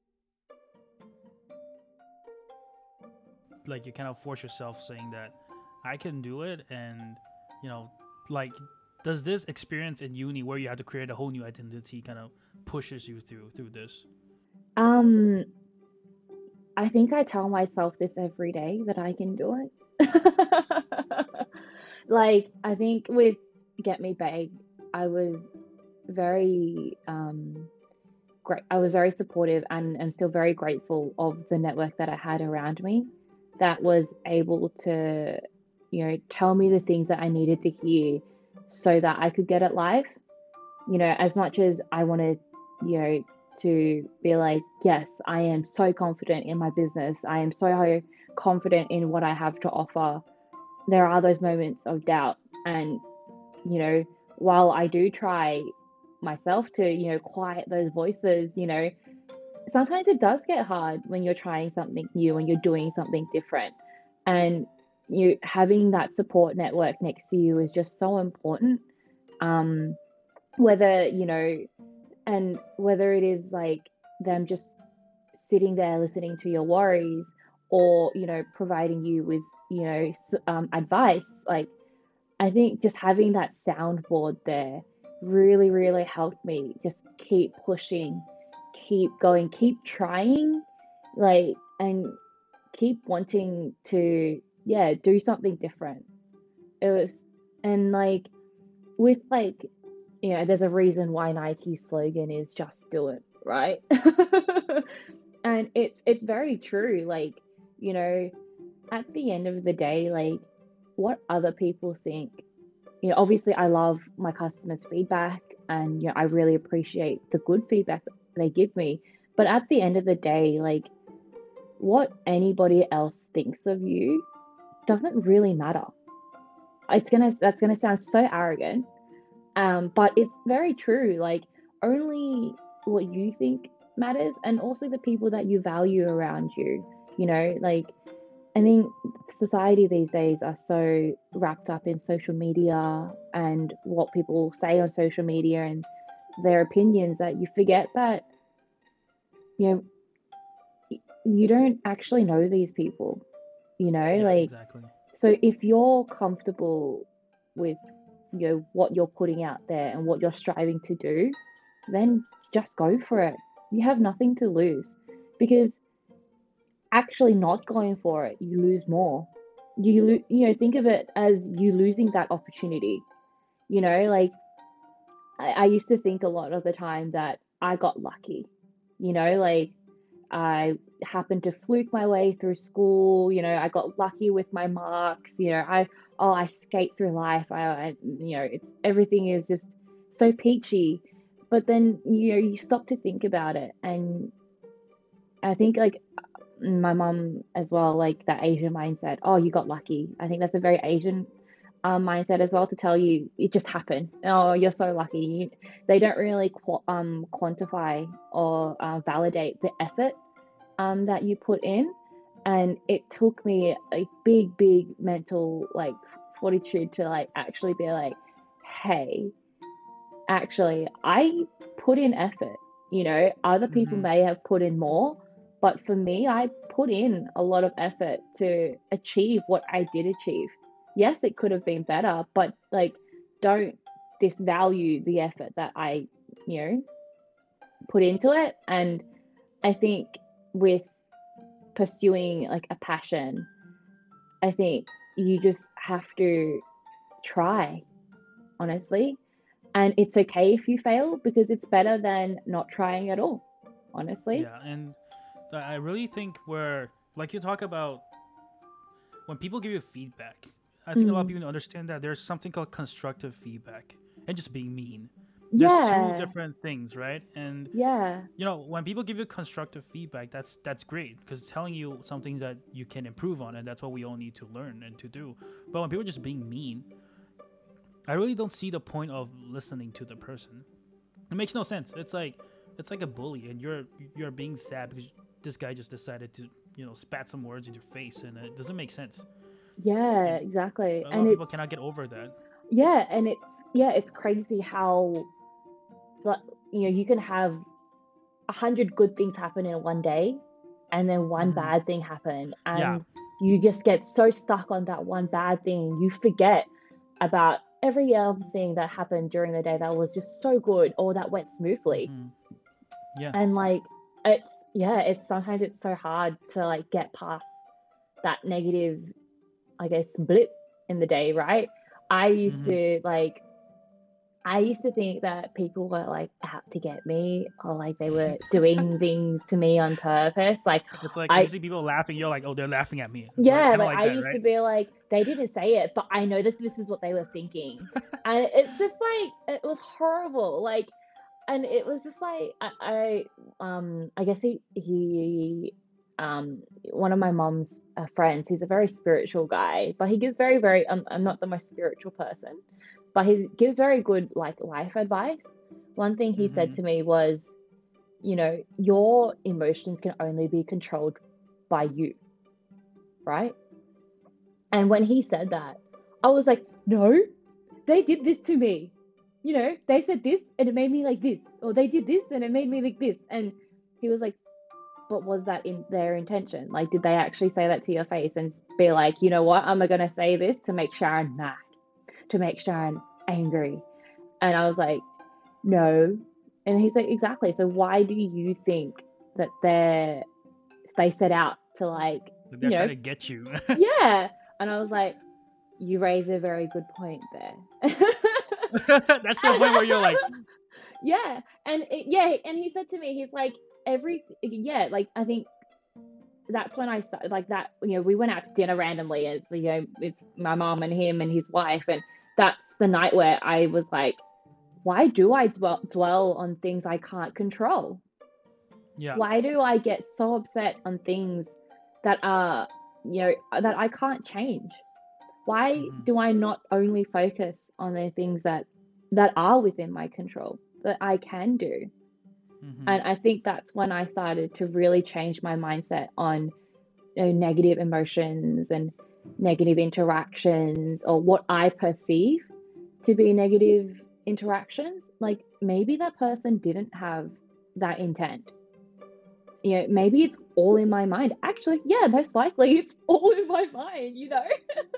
Speaker 1: like you kind of force yourself saying that I can do it, and you know like does this experience in uni where you have to create a whole new identity kind of pushes you through through this?
Speaker 2: Um, I think I tell myself this every day that I can do it. Like, I think with Get Me Baked, I was very um great. I was very supportive and I'm still very grateful of the network that I had around me that was able to, you know, tell me the things that I needed to hear so that I could get it live. You know, as much as I wanted, you know, to be like, yes, I am so confident in my business. I am so confident in what I have to offer. There are those moments of doubt. And, you know, while I do try myself to, you know, quiet those voices, you know, sometimes it does get hard when you're trying something new and you're doing something different. And you having that support network next to you is just so important. Um, whether, you know, and whether it is like them just sitting there listening to your worries, or you know providing you with you know s- um, advice. Like, I think just having that soundboard there really, really helped me just keep pushing, keep going, keep trying, like, and keep wanting to, yeah, do something different. It was, and like, with like, you know, there's a reason why Nike's slogan is just do it, right? And it's it's very true. Like, you know, at the end of the day, like, what other people think, you know, obviously I love my customers' feedback, and you know, I really appreciate the good feedback that they give me. But at the end of the day, like, what anybody else thinks of you doesn't really matter. It's gonna that's gonna sound so arrogant, um, but it's very true. Like, only what you think matters, and also the people that you value around you. You know, like, I think society these days are so wrapped up in social media and what people say on social media and their opinions, that you forget that, you know, you don't actually know these people, you know,
Speaker 1: Yeah,
Speaker 2: like,
Speaker 1: exactly.
Speaker 2: so if you're comfortable with, you know, what you're putting out there and what you're striving to do, then just go for it. You have nothing to lose, because actually not going for it, you lose more. You lo- you know, think of it as you losing that opportunity. You know, like, I, I used to think a lot of the time that I got lucky. You know, like, I happened to fluke my way through school. You know, I got lucky with my marks. You know, I oh I skate through life. I, I you know, it's everything is just so peachy. But then you know you stop to think about it, and I think, like, my mum as well, like that Asian mindset. Oh, you got lucky. I think that's a very Asian um, mindset as well, to tell you it just happened. Oh, you're so lucky. You, they don't really qu- um, quantify or uh, validate the effort um, that you put in. And it took me a big, big mental like fortitude to like actually be like, hey, actually, I put in effort. You know, other people
Speaker 1: Hmm.
Speaker 2: may have put in more, but for me, I put in a lot of effort to achieve what I did achieve. Yes, it could have been better, but like, don't disvalue the effort that I, you know, put into it. And I think with pursuing like a passion, I think you just have to try, honestly. And it's okay if you fail, because it's better than not trying at all, honestly.
Speaker 1: Yeah, and th- I really think where, like you talk about, when people give you feedback, I think a lot of
Speaker 2: Mm.
Speaker 1: people understand that there's something called constructive feedback and just being mean. There's two
Speaker 2: Yeah,
Speaker 1: different things, right? And
Speaker 2: yeah,
Speaker 1: you know, when people give you constructive feedback, that's that's great, because it's telling you some things that you can improve on, and that's what we all need to learn and to do. But when people are just being mean, I really don't see the point of listening to the person. It makes no sense. It's like it's like a bully, and you're you're being sad because this guy just decided to, you know, spat some words in your face, and it doesn't make sense.
Speaker 2: yeah,
Speaker 1: And
Speaker 2: exactly.
Speaker 1: a lot
Speaker 2: And
Speaker 1: of people
Speaker 2: it's,
Speaker 1: cannot get over that.
Speaker 2: yeah, and it's, yeah, it's crazy how, like, you know, you can have a hundred good things happen in one day, and then one
Speaker 1: Hmm.
Speaker 2: bad thing happen,
Speaker 1: Yeah.
Speaker 2: and you just get so stuck on that one bad thing, you forget about every other thing that happened during the day that was just so good or that went smoothly.
Speaker 1: Hmm. Yeah.
Speaker 2: And like, it's, yeah, it's sometimes it's so hard to like get past that negative, I guess, blip in the day, right? I used
Speaker 1: Hmm.
Speaker 2: to like, I used to think that people were like out to get me, or like they were doing things to me on purpose. Like,
Speaker 1: It's like when you
Speaker 2: I,
Speaker 1: see people laughing, you're like, oh, they're laughing at me. It's like
Speaker 2: yeah,
Speaker 1: kind of
Speaker 2: like
Speaker 1: like
Speaker 2: I
Speaker 1: that,
Speaker 2: used to
Speaker 1: right?
Speaker 2: be like, they didn't say it, but I know that this is what they were thinking. And it's just like, it was horrible. Like, and it was just like, I, I um, I guess he, he, um, one of my mom's uh, friends, he's a very spiritual guy, but he gives very, very, um, I'm not the most spiritual person, but he gives very good like life advice. One thing he said
Speaker 1: Hmm.
Speaker 2: to me was, you know, your emotions can only be controlled by you, right? And when he said that, I was like, no, they did this to me. You know, they said this and it made me like this, or they did this and it made me like this. And He was like, but was that in their intention? Like, did they actually say that to your face and be like, you know what, I'm going to say this to make Sharon mad, to make Sharon angry? And I was like, no. And he's like, exactly. So why do you think that they're, they set out to like,
Speaker 1: Like,
Speaker 2: you
Speaker 1: they're
Speaker 2: know,
Speaker 1: trying to get you.
Speaker 2: yeah. And I was like, you raise a very good point there.
Speaker 1: That's the point where you're like,
Speaker 2: yeah. And it, yeah. And he said to me, he's like, every, yeah, like, I think that's when I started like that, you know, we went out to dinner randomly as, you know, with my mom and him and his wife. And that's the night where I was like, why do I dwell, dwell on things I can't control?
Speaker 1: yeah,
Speaker 2: Why do I get so upset on things that are, you know, that I can't change? Why
Speaker 1: mhm,
Speaker 2: do I not only focus on the things that that are within my control, that I can do?
Speaker 1: mhm,
Speaker 2: And I think that's when I started to really change my mindset on, you know, negative emotions and negative interactions, or what I perceive to be negative interactions. Like, maybe that person didn't have that intent. You know, maybe it's all in my mind. Actually, yeah, most likely it's all in my mind, you know?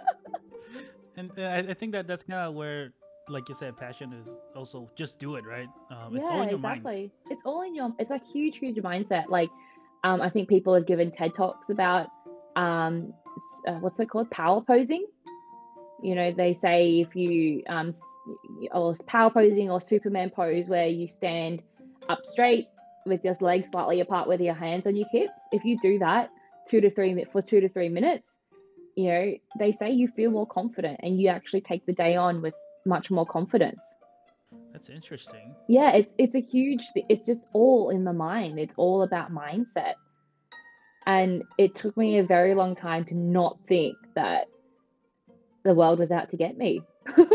Speaker 1: and uh, I, I think that that's kind of where, like you said, passion is also just do it, right? Um, it's all
Speaker 2: Yeah,
Speaker 1: in your mind.
Speaker 2: exactly. It's all in your, it's a huge, huge mindset. Like, um, I think people have given TED Talks about, um, s- uh, what's it called? Power posing. You know, they say if you, um, s- or power posing or Superman pose, where you stand up straight with your legs slightly apart with your hands on your hips. If you do that two to three mi- for two to three minutes, you know, they say you feel more confident and you actually take the day on with much more confidence.
Speaker 1: That's interesting.
Speaker 2: Yeah, it's it's a huge, it's just all in the mind. It's all about mindset. And it took me a very long time to not think that the world was out to get me.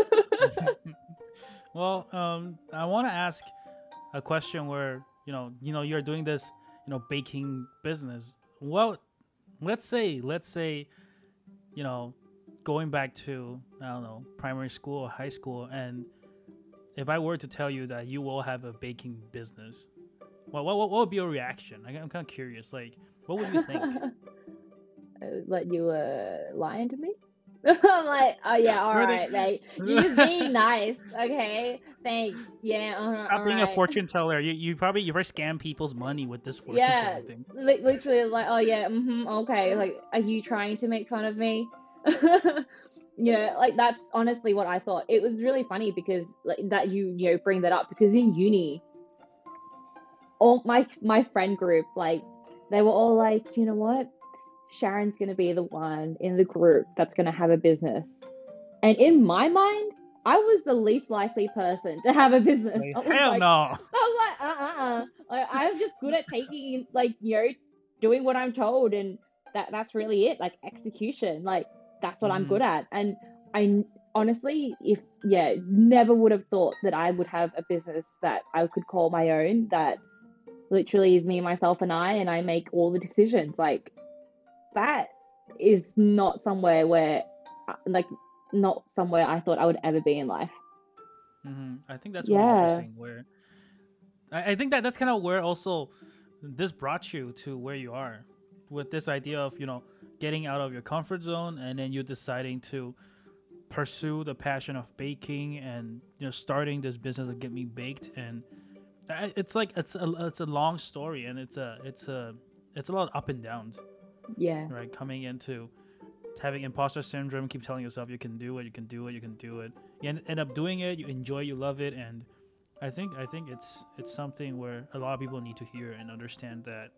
Speaker 1: Well, um, I want to ask a question where you know, you know, you're doing this, you know, baking business. Well, let's say, let's say, you know, going back to I don't know, primary school or high school, and if I were to tell you that you will have a baking business, well, what what, what would be your reaction? I, I'm kind of curious. Like, what would you think?
Speaker 2: Like, you were lying to me? I'm like, oh yeah, all
Speaker 1: Or they
Speaker 2: right, mate. You're just being nice. Okay, thanks. Yeah, all right.
Speaker 1: stop
Speaker 2: All
Speaker 1: being a
Speaker 2: right.
Speaker 1: fortune teller? You you probably you probably scam people's money with this fortune
Speaker 2: Yeah,
Speaker 1: telling thing.
Speaker 2: li- literally, like, oh yeah, mm-hmm, okay. Like, are you trying to make fun of me? You know, like, that's honestly what I thought. It was really funny because, like, that you you know bring that up, because in uni, all my my friend group, like, they were all like, you know what, Sharon's gonna be the one in the group that's gonna have a business. And in my mind, I was the least likely person to have a business.
Speaker 1: Like,
Speaker 2: I was
Speaker 1: hell
Speaker 2: like,
Speaker 1: no.
Speaker 2: I was like, uh, uh, uh. Like, I'm just good at taking, like, you know, doing what I'm told, and that that's really it. Like, execution, like, that's what I'm
Speaker 1: Hmm.
Speaker 2: good at. And I honestly, if yeah, never would have thought that I would have a business that I could call my own. That literally is me, myself, and I, and I make all the decisions. Like, that is not somewhere where, uh, like, not somewhere I thought I would ever be in life.
Speaker 1: Hmm. I think that's really
Speaker 2: Yeah,
Speaker 1: interesting. Where I, I think that that's kind of where also this brought you to where you are, with this idea of you know getting out of your comfort zone and then you deciding to pursue the passion of baking and you know starting this business of Get Me Baked. And I- it's like it's a it's a long story, and it's a it's a it's a lot of up and downs,
Speaker 2: yeah,
Speaker 1: right? Coming into having imposter syndrome, keep telling yourself you can do it, you can do it, you can do it. You end, end up doing it, you enjoy, you love it, and I think I think it's it's something where a lot of people need to hear and understand that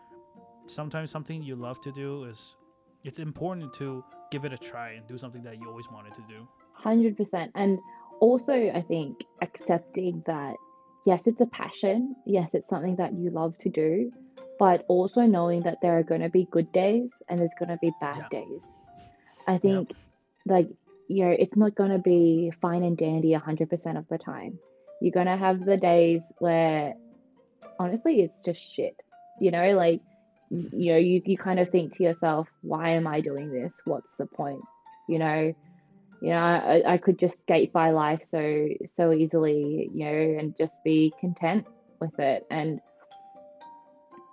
Speaker 1: sometimes something you love to do is it's important to give it a try and do something that you always wanted to do.
Speaker 2: one hundred percent. And also, I think accepting that, yes, it's a passion, yes, it's something that you love to do, but also knowing that there are going to be good days and there's going to be bad
Speaker 1: Yeah.
Speaker 2: days. I
Speaker 1: Yep.
Speaker 2: think, like, you know, it's not going to be fine and dandy one hundred percent of the time. You're going to have the days where, honestly, it's just shit. You know, like, y- you know, you, you kind of think to yourself, why am I doing this? What's the point? You know, you know, I, I could just skate by life so so easily, you know, and just be content with it. And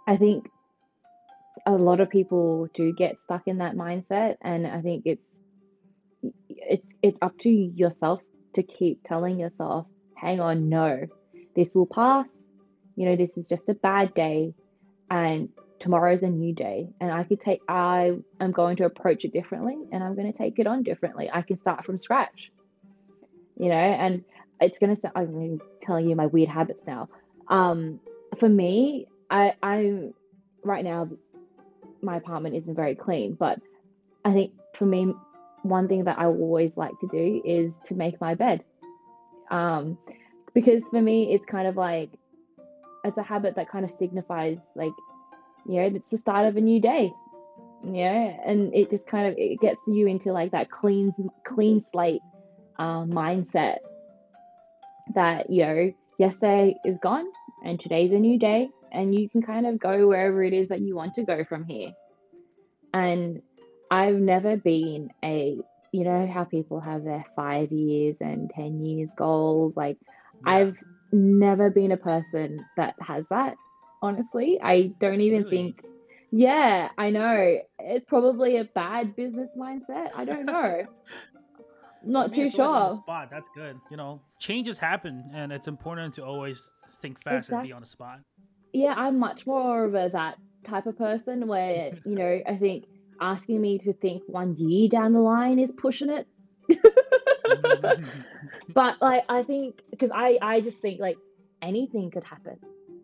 Speaker 2: I think a lot of people do get stuck in that mindset, and I think it's it's it's up to yourself to keep telling yourself, hang on, no, this will pass. You know, this is just a bad day, and tomorrow's a new day. And I could take, I am going to approach it differently, and I'm going to take it on differently. I can start from scratch, you know, and it's going to sound, I'm telling you my weird habits now. Um, for me, I, I'm right now, my apartment isn't very clean, but I think for me, one thing that I always like to do is to make my bed. Um, because for me, it's kind of like, it's a habit that kind of signifies like, you know, it's the start of a new day, you know, and it just kind of, it gets you into like that clean, clean slate uh, mindset that, you know, yesterday is gone and today's a new day, and you can kind of go wherever it is that you want to go from here. And I've never been a, you know, how people have their five years and ten years goals. Like,
Speaker 1: Yeah.
Speaker 2: I've never been a person that has that. Honestly, I don't even
Speaker 1: Really?
Speaker 2: think, yeah, I know. It's probably a bad business mindset. I don't know.
Speaker 1: I
Speaker 2: Not
Speaker 1: mean,
Speaker 2: too
Speaker 1: it's always on the
Speaker 2: sure.
Speaker 1: spot. That's good. You know, changes happen, and it's important to always think fast and be
Speaker 2: Exactly.
Speaker 1: on the spot.
Speaker 2: Yeah, I'm much more of a that type of person where, you know, I think asking me to think one year down the line is pushing it. But like I think because I I just think like anything could happen.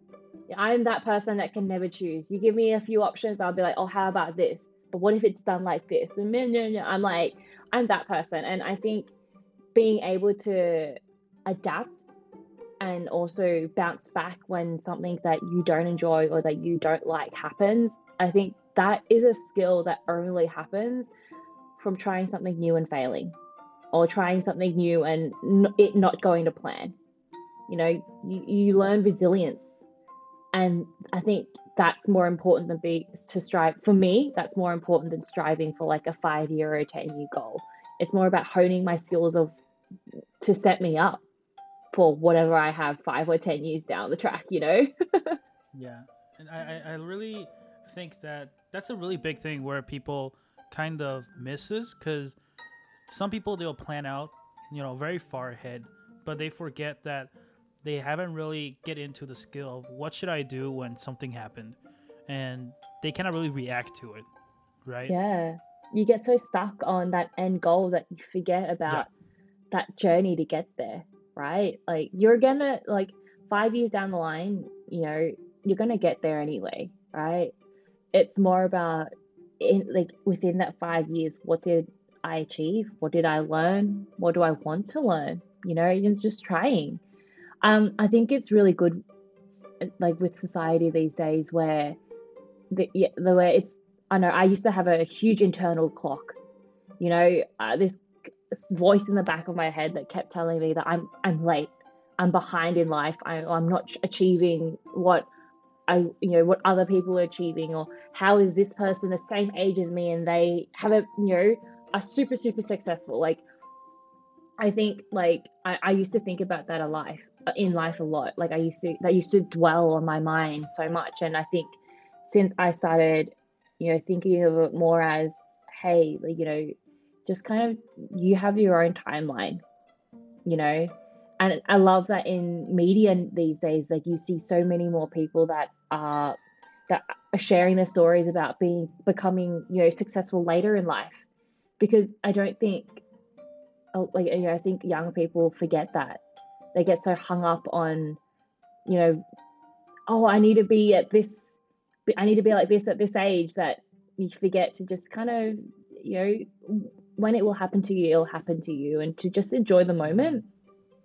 Speaker 2: I'm that person that can never choose. You give me a few options, I'll be like, oh, how about this? But what if it's done like this? And no, no, no. I'm like, I'm that person, and I think being able to adapt and also bounce back when something that you don't enjoy or that you don't like happens, I think that is a skill that only happens from trying something new and failing, or trying something new and it not going to plan. You know, you, you learn resilience. And I think that's more important than be to strive. For me, that's more important than striving for like a five year or a ten year goal. It's more about honing my skills of to set me up for whatever I have five or ten years down the track, you know?
Speaker 1: Yeah, and I, I I really think that that's a really big thing where people kind of misses because some people they'll plan out, you know, very far ahead, but they forget that they haven't really get into the skill of what should I do when something happened, and they cannot really react to it, right?
Speaker 2: Yeah. You get so stuck on that end goal that you forget
Speaker 1: Yeah,
Speaker 2: about that journey to get there, right? Like you're gonna like five years down the line, you know, you're gonna get there anyway, right? It's more about in like within that five years, what did I achieve? What did I learn? What do I want to learn? You know, it's just trying. Um, I think it's really good, like with society these days, where the yeah, the way it's. I know I used to have a huge internal clock. You know, uh, this voice in the back of my head that kept telling me that I'm I'm late, I'm behind in life, I, I'm not achieving what I you know what other people are achieving, or how is this person the same age as me and they have a you know are super super successful. Like I think like I, I used to think about that a life in life a lot. Like I used to that used to dwell on my mind so much, and I think since I started, you know, thinking of it more as, hey, like, you know, just kind of you have your own timeline, you know, and I love that in media these days, like you see so many more people that are that are sharing their stories about being becoming, you know, successful later in life, because I don't think oh, like you know, I think young people forget that. They get so hung up on, you know, oh, I need to be at this, I need to be like this at this age, that you forget to just kind of, you know, when it will happen to you, it'll happen to you, and to just enjoy the
Speaker 1: hmm
Speaker 2: moment.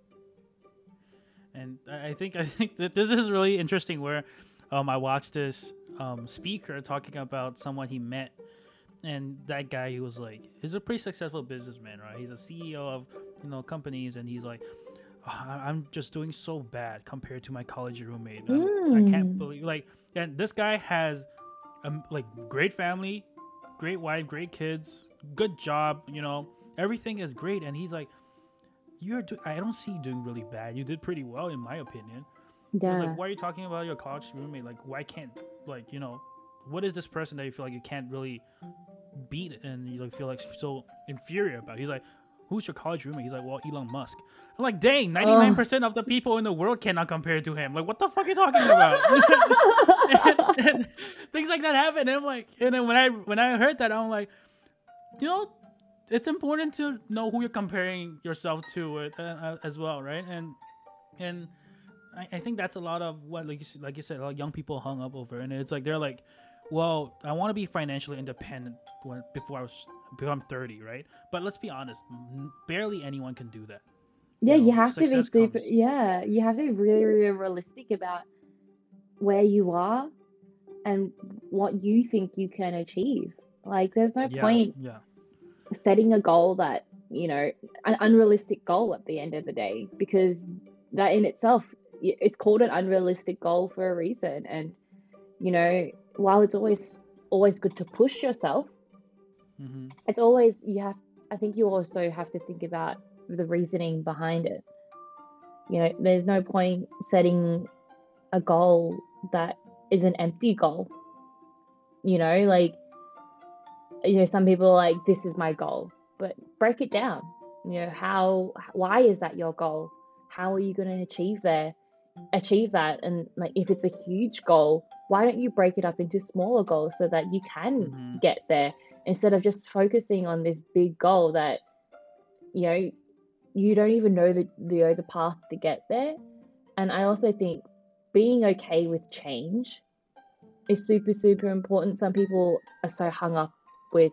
Speaker 1: and I I think I think that this is really interesting. Where um, I watched this um, speaker talking about someone he met, and that guy he was like, he's a pretty successful businessman, right? He's a C E O of you know companies, and he's like, "Oh, I- I'm just doing so bad compared to my college roommate. I'm I can't
Speaker 2: Mm,
Speaker 1: believe like, and this guy has um like great family, great wife, great kids, good job, you know, everything is great, and he's like, you're do- I don't see you doing really bad. You did pretty well in my opinion. He was like,
Speaker 2: yeah.
Speaker 1: why are you talking about your college roommate? Like, why can't like, you know, what is this person that you feel like you can't really beat and you like feel like so inferior about? He's like, who's your college roommate? He's like, well, Elon Musk. I'm like, dang, ninety-nine percent of the people in the world cannot compare to him. Like, what the fuck are you talking about? and, and things like that happen. And I'm like, and then when I when I heard that, I'm like, you know, it's important to know who you're comparing yourself to with, uh, as well, right? And and I, I think that's a lot of what, like you, like you said, a lot of young people hung up over, and it's like they're like, well, I want to be financially independent when, before I was before I'm thirty, right? But let's be honest, barely anyone can do that.
Speaker 2: Yeah,
Speaker 1: You
Speaker 2: you
Speaker 1: know,
Speaker 2: have to be
Speaker 1: success
Speaker 2: super,
Speaker 1: comes.
Speaker 2: yeah, you have to be really, really realistic about where you are and what you think you can achieve. Like, there's no
Speaker 1: Yeah,
Speaker 2: point
Speaker 1: yeah,
Speaker 2: setting a goal that, you know, an unrealistic goal at the end of the day, because that in itself, y- it's called an unrealistic goal for a reason. And, you know, while it's always always good to push yourself,
Speaker 1: hmm
Speaker 2: it's always, you have, I think you also have to think about the reasoning behind it. You know, there's no point setting a goal that is an empty goal. You know, like, you know, some people are like, this is my goal, but break it down. You know, how, why is that your goal? How are you going to achieve there, achieve that? And like, if it's a huge goal, why don't you break it up into smaller goals so that you can
Speaker 1: hmm
Speaker 2: get there, instead of just focusing on this big goal that, you know, you don't even know the, the, the path to get there. And I also think being okay with change is super, super important. Some people are so hung up with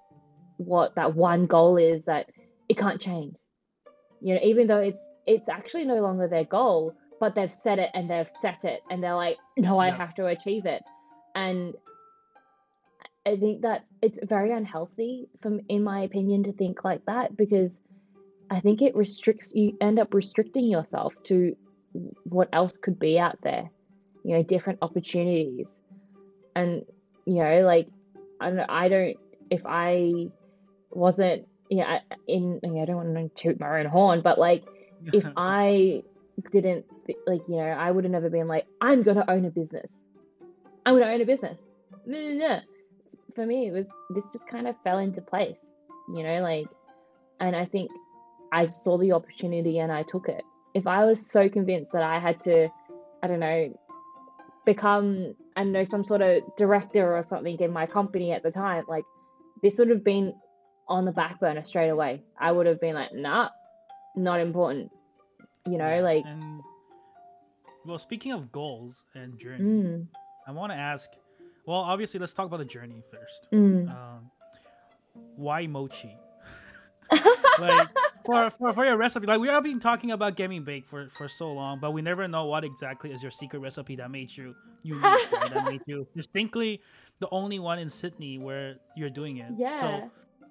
Speaker 2: what that one goal is that it can't change. You know, even though it's it's actually no longer their goal, but they've set it and they've set it and they're like, no, I
Speaker 1: yeah,
Speaker 2: have to achieve it. And I think that it's very unhealthy, from in my opinion, to think like that, because I think it restricts you, end up restricting yourself to what else could be out there, you know, different opportunities. And, you know, like, I don't, I don't if I wasn't, you know, in, you know, I don't want to toot my own horn, but like, if I didn't, like, you know, I would have never been like, I'm going to own a business. I'm going to own a business. No, no, no. For me, it was, this just kind of fell into place, you know, like, and I think I saw the opportunity and I took it. If I was so convinced that I had to, I don't know, become, I don't know, some sort of director or something in my company at the time, like, this would have been on the back burner straight away. I would have been like, nah, not important. You know,
Speaker 1: yeah.
Speaker 2: like,
Speaker 1: And well, speaking of goals and journey,
Speaker 2: mm,
Speaker 1: I want to ask. Well, obviously, let's talk about the journey first.
Speaker 2: mm.
Speaker 1: Um, why mochi? Like, for, for for your recipe, like we have been talking about getting baked for for so long, but we never know what exactly is your secret recipe that made you unique, right? That made you distinctly the only one in Sydney where you're doing it. So
Speaker 2: Yeah.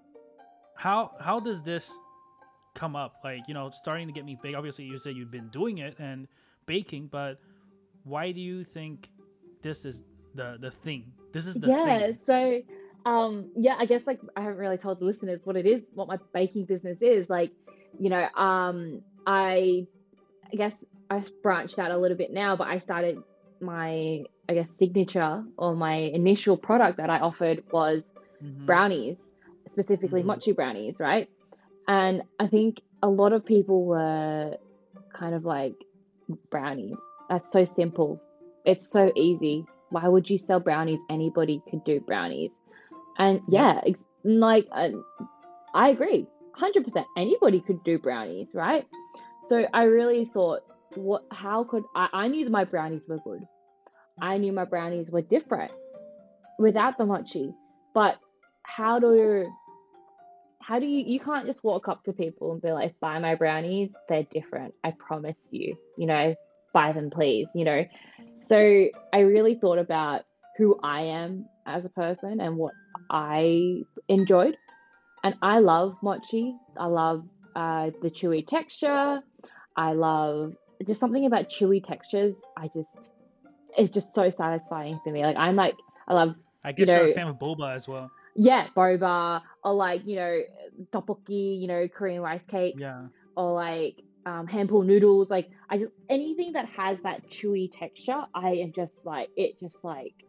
Speaker 1: how how does this come up? Like, you know, starting to get me big. Obviously, you said you've been doing it and baking, but why do you think this is the the thing? This is the
Speaker 2: Yeah.
Speaker 1: thing.
Speaker 2: So, um, yeah, I guess, like, I haven't really told the listeners what it is, what my baking business is. Like, you know, um, I, I guess I've branched out a little bit now, but I started my, I guess, signature, or my initial product that I offered was
Speaker 1: Mm-hmm.
Speaker 2: brownies, specifically
Speaker 1: Mm-hmm.
Speaker 2: mochi brownies, right? And I think a lot of people were kind of like, brownies, that's so simple. It's so easy. Why would you sell brownies? Anybody could do brownies. And
Speaker 1: Yep.
Speaker 2: yeah, it's like, uh, I agree. one hundred percent. Anybody could do brownies, right? So I really thought, what, how could I, I knew that my brownies were good. I knew my brownies were different without the mochi. But how do how do you you can't just walk up to people and be like, buy my brownies, they're different, I promise you, you know, buy them please, you know. So I really thought about who I am as a person and what I enjoyed. And I love mochi. I love uh, the chewy texture. I love just something about chewy textures. I just, it's just so satisfying for me. Like, I'm like, I love,
Speaker 1: I
Speaker 2: you
Speaker 1: guess you're a
Speaker 2: know,
Speaker 1: fan of boba as well.
Speaker 2: yeah, boba, or like, you know, tteokbokki, you know, Korean rice cakes,
Speaker 1: Yeah.
Speaker 2: or like um, handful noodles. Like, I just, anything that has that chewy texture, I am just like, it just like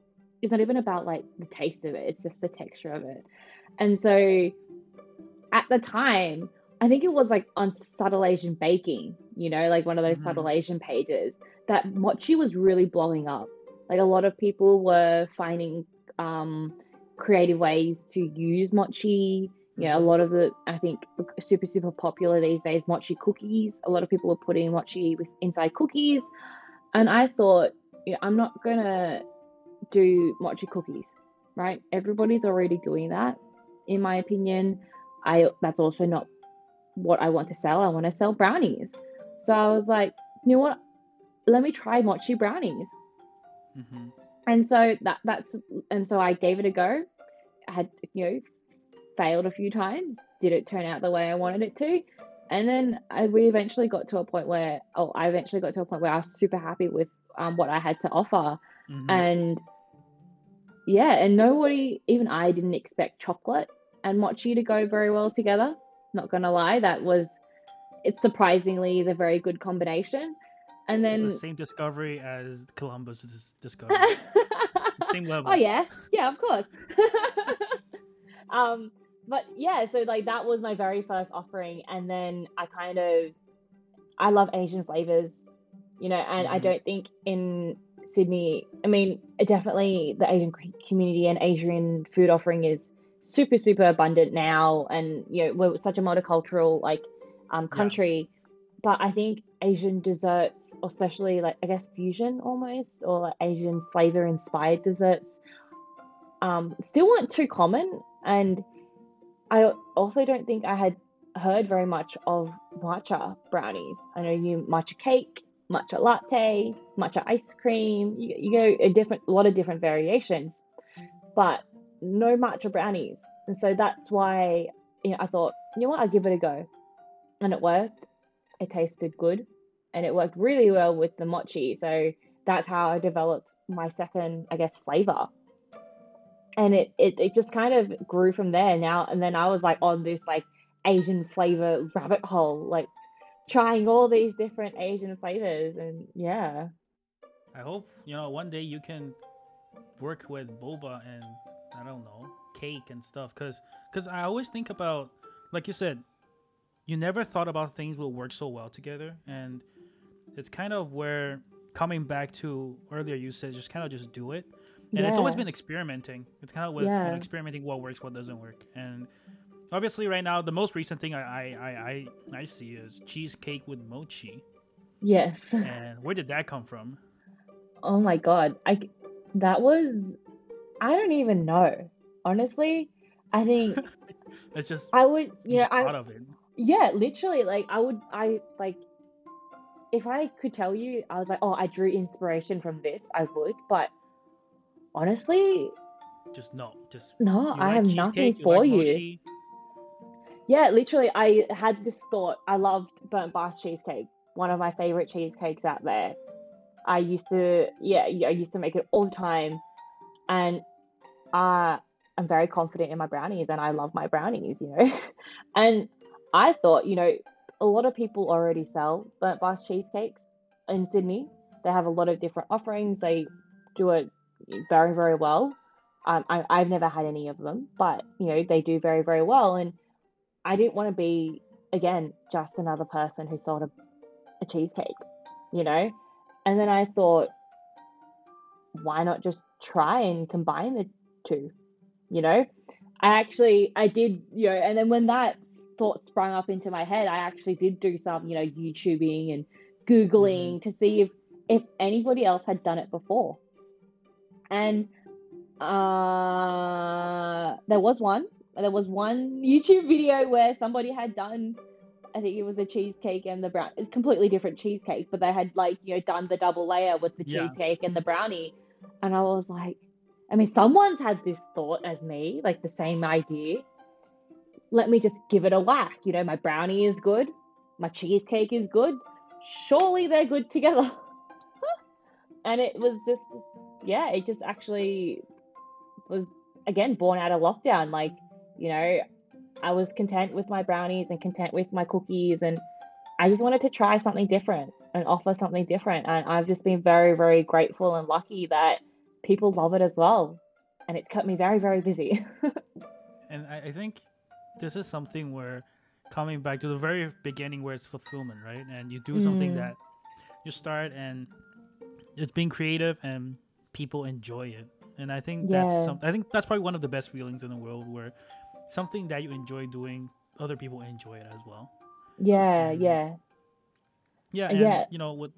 Speaker 2: it's not even about like the taste of it, it's just the texture of it. And so at the time, I think it was like on Subtle Asian Baking, you know, like one of those
Speaker 1: Mm-hmm.
Speaker 2: Subtle Asian pages, that mochi was really blowing up. Like a lot of people were finding um, creative ways to use mochi. You know, a
Speaker 1: Mm-hmm.
Speaker 2: lot of the, I think, super, super popular these days, mochi cookies. A lot of people are putting mochi with inside cookies. And I thought, you know, I'm not going to do mochi cookies, right? Everybody's already doing that, in my opinion. I That's also not what I want to sell. I want to sell brownies. So I was like, you know what? Let me try mochi brownies.
Speaker 1: Mm-hmm.
Speaker 2: And so that that's and so I gave it a go. I had, you know, failed a few times. Did it turn out the way I wanted it to? And then I, we eventually got to a point where, oh, I eventually got to a point where I was super happy with um, what I had to offer.
Speaker 1: Mm-hmm.
Speaker 2: And yeah, and nobody, even I didn't expect chocolate and mochi to go very well together. Not gonna lie, that was, it's surprisingly is a very good combination. And
Speaker 1: It's the
Speaker 2: then
Speaker 1: same discovery as Columbus's discovery. Same
Speaker 2: oh
Speaker 1: level.
Speaker 2: yeah, yeah, of course. um, but yeah, so like that was my very first offering, and then I kind of, I love Asian flavors, you know, and I
Speaker 1: Mm-hmm.
Speaker 2: don't think in Sydney, I mean, definitely the Asian community and Asian food offering is super, super abundant now. And, you know, we're such a multicultural, like, um,
Speaker 1: Yeah.
Speaker 2: country. But I think Asian desserts, especially like, I guess, fusion almost, or like Asian flavor inspired desserts, um, still weren't too common. And I also don't think I had heard very much of matcha brownies. I know you matcha cake, matcha latte, matcha ice cream. You, you go a different, a lot of different variations, but no matcha brownies. And so that's why, you know, I thought, you know what, I'll give it a go, and it worked. It tasted good, and it worked really well with the mochi. So that's how I developed my second, I guess, flavor. And it, it it just kind of grew from there now. And then I was like on this like Asian flavor rabbit hole, like trying all these different Asian flavors. And yeah.
Speaker 1: I hope you know one day you can work with boba and I don't know cake and stuff. Cause, cause I always think about, like you said, you never thought about things will work so well together, and it's kind of where coming back to earlier you said just kind of just do it, and it's always
Speaker 2: Yeah.
Speaker 1: been experimenting. It's kind of with you know
Speaker 2: Yeah.
Speaker 1: experimenting what works, what doesn't work, and obviously right now the most recent thing I I I I, I see is cheesecake with mochi.
Speaker 2: Yes.
Speaker 1: And where did that come from?
Speaker 2: Oh my God. I that was, I don't even know. Honestly, I think
Speaker 1: It's just
Speaker 2: I would,
Speaker 1: you
Speaker 2: you know,
Speaker 1: just
Speaker 2: I
Speaker 1: thought of it.
Speaker 2: yeah, literally like I would I like if I could tell you, I was like, oh, I drew inspiration from this, I would. But honestly,
Speaker 1: Just no, just
Speaker 2: no,
Speaker 1: you
Speaker 2: I
Speaker 1: like
Speaker 2: have nothing
Speaker 1: cheesecake, you
Speaker 2: for
Speaker 1: like
Speaker 2: you.
Speaker 1: mochi.
Speaker 2: Yeah, literally, I had this thought. I loved Burnt Bars cheesecake, one of my favorite cheesecakes out there. I used to, yeah, yeah, I used to make it all the time, and uh, I'm very confident in my brownies, and I love my brownies, you know. And I thought, you know, a lot of people already sell Burnt Bars cheesecakes in Sydney. They have a lot of different offerings. They do it very, very well. Um, I, I've never had any of them, but you know, they do very, very well. And I didn't want to be, again, just another person who sold a, a cheesecake, you know? And then I thought, why not just try and combine the two, you know? I actually, I did, you know, and then when that thought sprung up into my head, I actually did do some, you know, YouTubing and
Speaker 1: Mm-hmm.
Speaker 2: Googling to see if, if anybody else had done it before. And uh, there was one, there was one YouTube video where somebody had done, I think it was a cheesecake and the brown. It's completely different cheesecake, but they had like, you know, done the double layer with the
Speaker 1: Yeah.
Speaker 2: cheesecake and the brownie. And I was like, I mean, someone's had this thought as me, like the same idea. Let me just give it a whack. You know, my brownie is good, my cheesecake is good. Surely they're good together. And it was just, yeah, it just actually was, again, born out of lockdown. Like, you know, I was content with my brownies and content with my cookies, and I just wanted to try something different and offer something different. And I've just been very, very grateful and lucky that people love it as well. And it's kept me very, very busy.
Speaker 1: And I, I think this is something where coming back to the very beginning where it's fulfillment, right? And you do something
Speaker 2: Mm,
Speaker 1: that you start and it's being creative and people enjoy it. And I think that's
Speaker 2: yeah,
Speaker 1: some I think that's probably one of the best feelings in the world where something that you enjoy doing, other people enjoy it as well.
Speaker 2: yeah,
Speaker 1: And
Speaker 2: yeah,
Speaker 1: yeah, and
Speaker 2: yeah.
Speaker 1: you know what,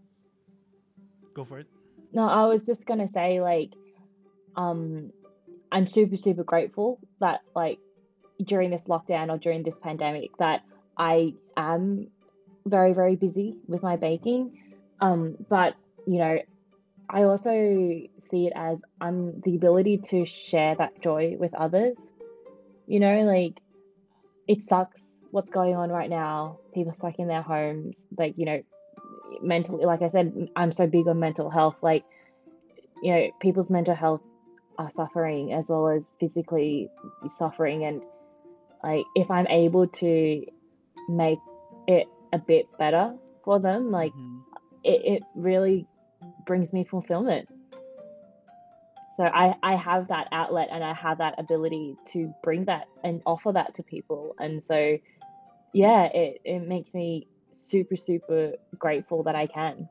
Speaker 1: go for it.
Speaker 2: No, I was just gonna say, like, um, I'm super, super grateful that, like, during this lockdown or during this pandemic, that I am very, very busy with my baking. Um, but, you know, I also see it as I'm the ability to share that joy with others. You know, like, it sucks what's going on right now. People stuck in their homes, like, you know, mentally, like I said, I'm so big on mental health. Like, you know, people's mental health are suffering as well as physically suffering. And like, if I'm able to make it a bit better for them, like,
Speaker 1: Mm-hmm.
Speaker 2: it, it really brings me fulfillment. So I, I have that outlet and I have that ability to bring that and offer that to people. And so, yeah, it, it makes me super, super grateful that I can.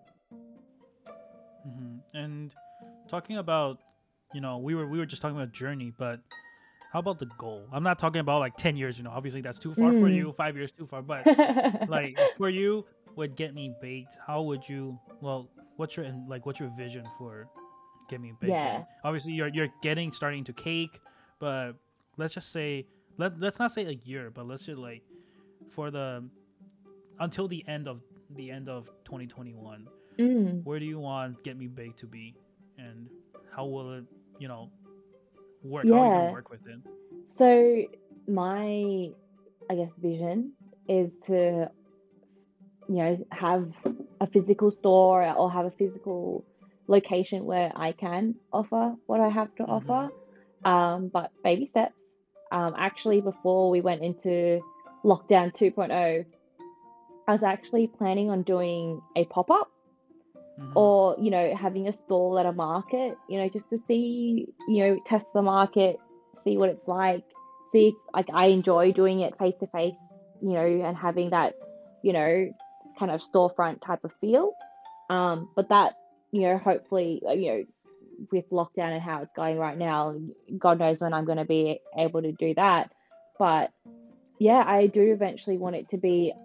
Speaker 1: Mm-hmm. And talking about, you know, we were we were just talking about journey, but how about the goal? I'm not talking about like ten years, you know, obviously that's too far for
Speaker 2: Mm.
Speaker 1: you, five years too far, but like for you would Get Me Baked, how would you, well, what's your like what's your vision for Get Me Baked? And
Speaker 2: Yeah.
Speaker 1: obviously you're you're getting starting to cake, but let's just say let let's not say a year, but let's just like for the until the end of the end of twenty twenty-one,
Speaker 2: Mm.
Speaker 1: where do you want Get Me Baked to be, and how will it, you know, work? How are you gonna
Speaker 2: Yeah.
Speaker 1: work with it?
Speaker 2: So my, I guess, vision is to, you know, have a physical store or have a physical location where I can offer what I have to
Speaker 1: Mm-hmm.
Speaker 2: offer. Um, but baby steps. Um, actually, before we went into lockdown 2.0, I was actually planning on doing a pop up
Speaker 1: Mm-hmm.
Speaker 2: or, you know, having a stall at a market, you know, just to see, you know, test the market, see what it's like, see if like I enjoy doing it face to face, you know, and having that, you know, kind of storefront type of feel. Um, but that, you know, hopefully, uh, you know, with lockdown and how it's going right now, God knows when I'm going to be able to do that. But yeah, I do eventually want it to be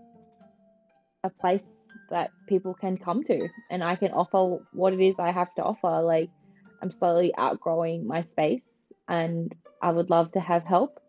Speaker 2: a place that people can come to and I can offer what it is I have to offer. Like, I'm slowly outgrowing my space and I would love to have help.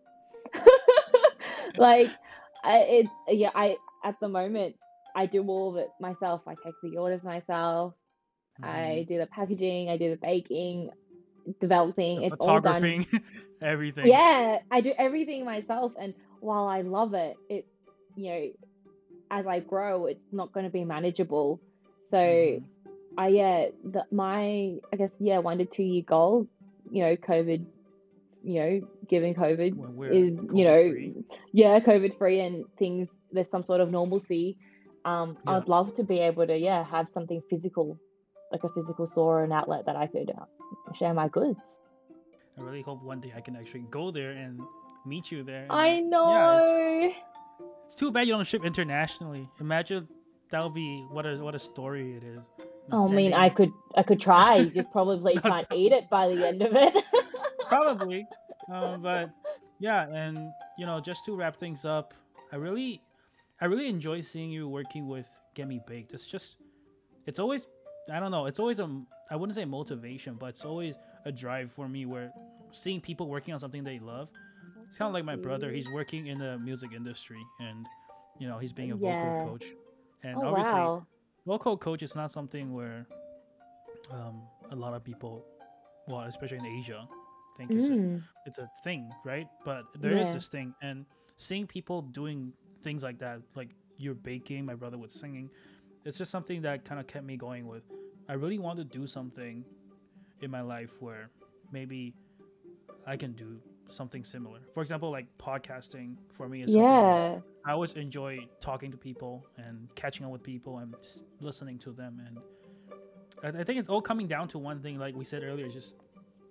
Speaker 2: Like, I, it's, yeah, I, at the moment, I do all of it myself. I take the orders myself.
Speaker 1: Mm-hmm.
Speaker 2: I do the packaging, I do the baking,
Speaker 1: The
Speaker 2: developing. It's all done.
Speaker 1: photographing, everything.
Speaker 2: Yeah, I do everything myself. And while I love it, it, you know, as I grow, it's not going to be manageable. So
Speaker 1: Mm-hmm.
Speaker 2: I, yeah, the, my, I guess, yeah, one to two year goal, you know, COVID, you know, given COVID
Speaker 1: When we're
Speaker 2: is, you
Speaker 1: COVID
Speaker 2: know,
Speaker 1: free.
Speaker 2: yeah, COVID free and things, there's some sort of normalcy. Um,
Speaker 1: Yeah,
Speaker 2: I'd love to be able to, yeah, have something physical, like a physical store or an outlet that I could uh, share my goods.
Speaker 1: I really hope one day I can actually go there and meet you there. And
Speaker 2: I
Speaker 1: yeah, it's
Speaker 2: know.
Speaker 1: it's too bad you don't ship internationally. Imagine that would be what a what a story it is. You know,
Speaker 2: I mean, I
Speaker 1: sending.
Speaker 2: could, I could try. You just probably
Speaker 1: Not
Speaker 2: can't eat it by the end of it.
Speaker 1: probably, um, but yeah, and you know, just to wrap things up, I really, I really enjoy seeing you working with Get Me Baked. It's just, it's always, I don't know, it's always a, I wouldn't say motivation, but it's always a drive for me where seeing people working on something they love. It's kind of like
Speaker 2: Thank
Speaker 1: my brother.
Speaker 2: you.
Speaker 1: He's working in the music industry, and you know, he's being a vocal
Speaker 2: Yeah.
Speaker 1: coach, and
Speaker 2: Oh,
Speaker 1: obviously,
Speaker 2: wow.
Speaker 1: vocal coach is not something where um, a lot of people, well, especially in Asia, think it's a
Speaker 2: Mm,
Speaker 1: it's a thing, right? But there is
Speaker 2: yeah.
Speaker 1: this thing, and seeing people doing things like that, like you're baking, my brother was singing, it's just something that kind of kept me going. With, I really want to do something in my life where maybe I can do something similar. For example, like podcasting for me is something where
Speaker 2: Yeah.
Speaker 1: I always enjoy talking to people and catching up with people and listening to them, and I, I think it's all coming down to one thing, like we said earlier, is just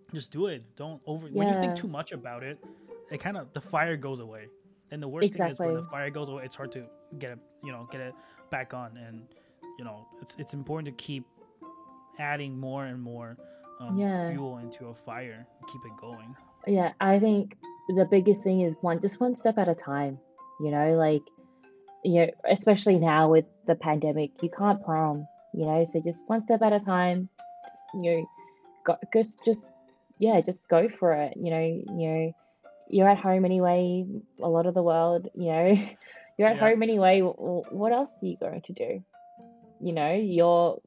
Speaker 1: just do it. Don't over when you think
Speaker 2: Yeah,
Speaker 1: too much about it, it kind of the fire goes away. And the worst thing is when the
Speaker 2: exactly.
Speaker 1: fire goes away, it's hard to get it, you know, get it back on. And you know, it's it's important to keep adding more and more um,
Speaker 2: Yeah.
Speaker 1: fuel into a fire, keep it going.
Speaker 2: Yeah, I think the biggest thing is one just one step at a time. You know, like, you know, especially now with the pandemic, you can't plan, you know, so just one step at a time. Just, you know, go, just just yeah, just go for it. You know, you know, you're at home anyway, a lot of the world, you know, you're at
Speaker 1: Yeah,
Speaker 2: home anyway. w- What else are you going to do? You know, you're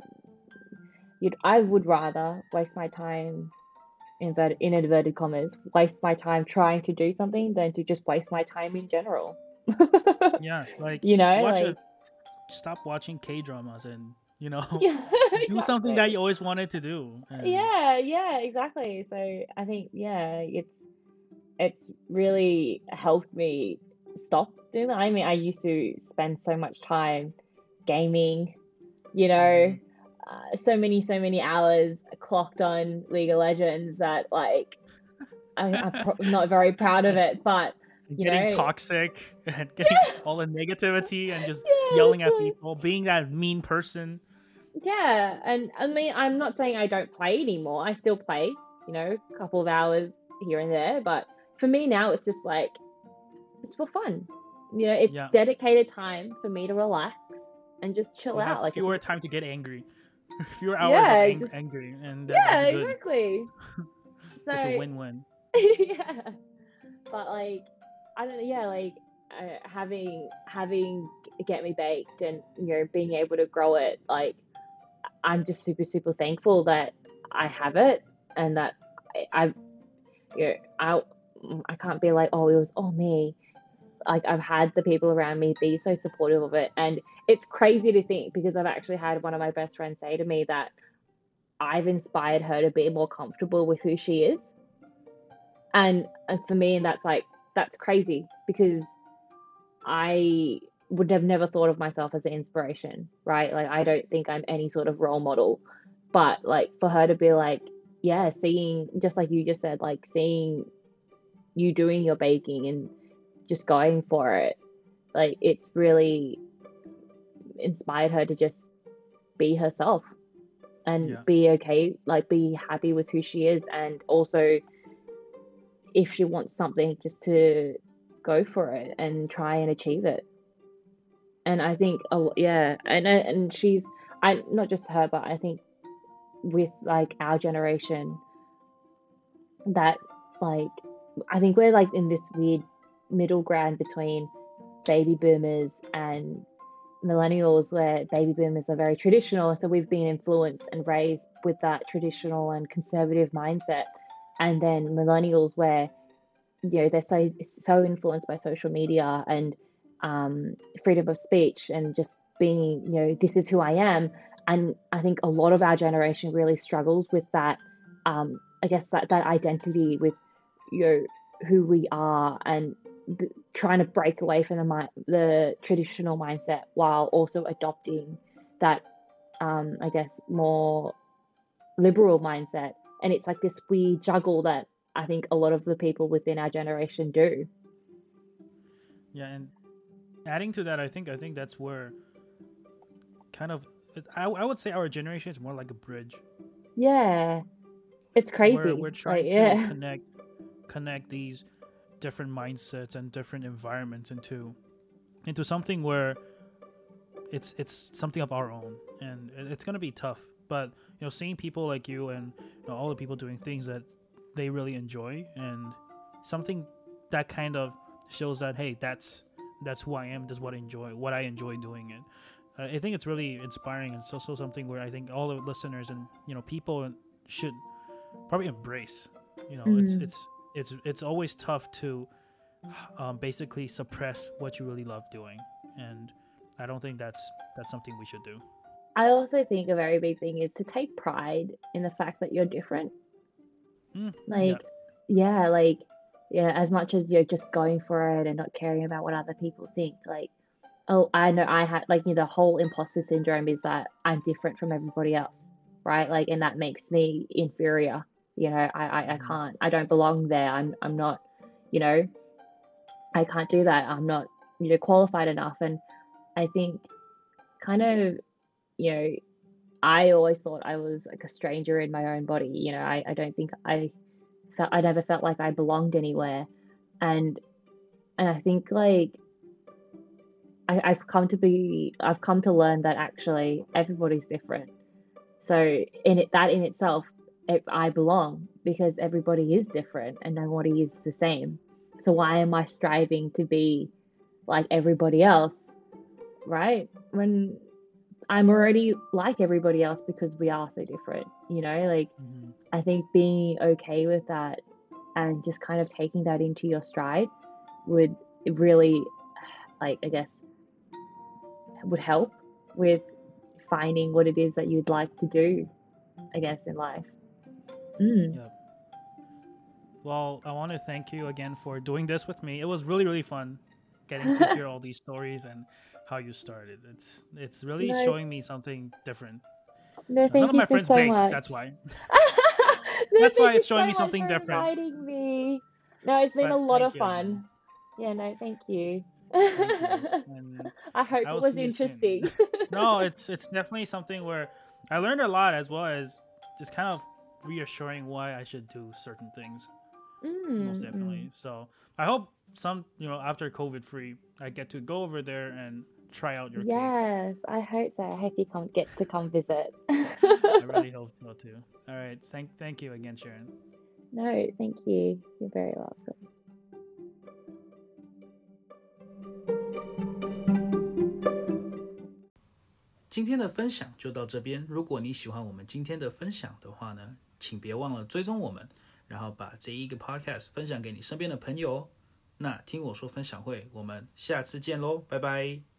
Speaker 2: you'd I would rather waste my time inverted in inverted commas, waste my time trying to do something than to just waste my time in general.
Speaker 1: yeah. Like
Speaker 2: You know,
Speaker 1: watch a
Speaker 2: like
Speaker 1: stop watching K dramas and you know
Speaker 2: yeah,
Speaker 1: do something that
Speaker 2: exactly.
Speaker 1: you always wanted to do. And
Speaker 2: Yeah, yeah, exactly. So I think yeah, it's it's really helped me stop doing that. I mean, I used to spend so much time gaming, you know,
Speaker 1: mhm.
Speaker 2: uh, so many, so many hours clocked on League of Legends that like I, I'm pro- not very proud of
Speaker 1: and
Speaker 2: it, but you
Speaker 1: getting
Speaker 2: know,
Speaker 1: toxic and getting
Speaker 2: yeah,
Speaker 1: all the negativity and just
Speaker 2: yeah,
Speaker 1: yelling at
Speaker 2: literally.
Speaker 1: people, being that mean person.
Speaker 2: Yeah, and I mean, I'm not saying I don't play anymore. I still play, you know, a couple of hours here and there, but for me now, it's just like it's for fun. You know, it's
Speaker 1: Yeah,
Speaker 2: dedicated time for me to relax and just chill
Speaker 1: you have
Speaker 2: out. Like if
Speaker 1: fewer
Speaker 2: you,
Speaker 1: time to get angry, fewer hours of
Speaker 2: yeah,
Speaker 1: ang-
Speaker 2: just
Speaker 1: angry, and that,
Speaker 2: yeah,
Speaker 1: that's good.
Speaker 2: exactly.
Speaker 1: It's a
Speaker 2: So
Speaker 1: win-win.
Speaker 2: yeah, but like I don't know, yeah, like uh, having having Get Me Baked and you know being able to grow it, like I'm just super super thankful that I have it and that I, I've you know I I can't be like oh it was all me. Like I've had the people around me be so supportive of it, and it's crazy to think because I've actually had one of my best friends say to me that I've inspired her to be more comfortable with who she is, and and for me, and that's like that's crazy because I would have never thought of myself as an inspiration, right? Like I don't think I'm any sort of role model, but like for her to be like, yeah, seeing just like you just said, like seeing you doing your baking and just going for it, like it's really inspired her to just be herself and
Speaker 1: Yeah,
Speaker 2: be okay, like be happy with who she is, and also if she wants something, just to go for it and try and achieve it. And I think, oh yeah, and and she's I not just her, but I think with like our generation that like I think we're like in this weird middle ground between baby boomers and millennials where baby boomers are very traditional, so we've been influenced and raised with that traditional and conservative mindset, and then millennials where you know they're so so influenced by social media and um, freedom of speech and just being you know this is who I am, and I think a lot of our generation really struggles with that. um, I guess that that identity with you know who we are and the, trying to break away from the mi- the traditional mindset while also adopting that um, I guess more liberal mindset. And it's like this weird juggle that I think a lot of the people within our generation do.
Speaker 1: yeah, and adding to that, I think I think that's where kind of I, I would say our generation is more like a bridge
Speaker 2: Yeah, it's
Speaker 1: where
Speaker 2: crazy.
Speaker 1: we're
Speaker 2: Like,
Speaker 1: trying to
Speaker 2: yeah.
Speaker 1: connect connect these different mindsets and different environments into into something where it's it's something of our own, and it's gonna be tough. But you know, seeing people like you and you know, all the people doing things that they really enjoy, and something that kind of shows that hey, that's that's who I am. That's what I enjoy. What I enjoy doing it. Uh, I think it's really inspiring, and it's also something where I think all the listeners and you know people should probably embrace. You know, it's
Speaker 2: Mm.
Speaker 1: it's it's it's always tough to um, basically suppress what you really love doing, and I don't think that's that's something we should do.
Speaker 2: I also think a very big thing is to take pride in the fact that you're different.
Speaker 1: Mm, yeah,
Speaker 2: Like, yeah, like, yeah, as much as you're just going for it and not caring about what other people think, like, oh, I know I had, like, you know, the whole imposter syndrome is that I'm different from everybody else, right? Like, and that makes me inferior. You know, I, I, I
Speaker 1: Mhm.
Speaker 2: can't, I don't belong there. I'm, I'm not, you know, I can't do that. I'm not, you know, qualified enough. And I think kind of, you know, I always thought I was like a stranger in my own body. You know, I, I don't think I felt, I never felt like I belonged anywhere. And, and I think like, I, I've come to be, I've come to learn that actually everybody's different. So in it, that in itself, it, I belong because everybody is different and nobody is the same. So why am I striving to be like everybody else, right? When I'm already like everybody else because we are so different, you know? Like,
Speaker 1: Mhm.
Speaker 2: I think being okay with that and just kind of taking that into your stride would really, like, I guess, would help with finding what it is that you'd like to do, I guess, in life. Mm.
Speaker 1: Yep. Well, I want to thank you again for doing this with me. It was really, really fun getting to hear all these stories and how you started. It's it's really
Speaker 2: No,
Speaker 1: showing me something different.
Speaker 2: no,
Speaker 1: Uh, None
Speaker 2: thank
Speaker 1: of
Speaker 2: you
Speaker 1: my
Speaker 2: for
Speaker 1: friends
Speaker 2: so
Speaker 1: bake.
Speaker 2: much.
Speaker 1: That's why.
Speaker 2: No,
Speaker 1: That's why
Speaker 2: thank you
Speaker 1: it's showing
Speaker 2: so
Speaker 1: me
Speaker 2: much
Speaker 1: something
Speaker 2: for
Speaker 1: different.
Speaker 2: inviting me. No, it's been a
Speaker 1: But
Speaker 2: lot
Speaker 1: thank
Speaker 2: of
Speaker 1: you again.
Speaker 2: fun. Yeah, no, thank you.
Speaker 1: Thank you, and
Speaker 2: I hope
Speaker 1: I
Speaker 2: it
Speaker 1: will
Speaker 2: was
Speaker 1: see you soon.
Speaker 2: interesting.
Speaker 1: No, it's it's definitely something where I learned a lot, as well as just kind of reassuring why I should do certain things. Most
Speaker 2: Mm, mm.
Speaker 1: definitely. So I hope some, you know, after COVID free, I get to go over there and try out your cake.
Speaker 2: Yes, I hope so. I hope you come get to come visit.
Speaker 1: I really hope so too. All right. Thank thank you again, Sharon.
Speaker 2: No, thank you. You're very welcome.
Speaker 1: 今天的分享就到这边。如果你喜欢我们今天的分享的话呢，请別忘了追蹤我們，然後把這一個 podcast 分享給你身邊的朋友。那聽我說分享會，我們下次見嘍，拜拜。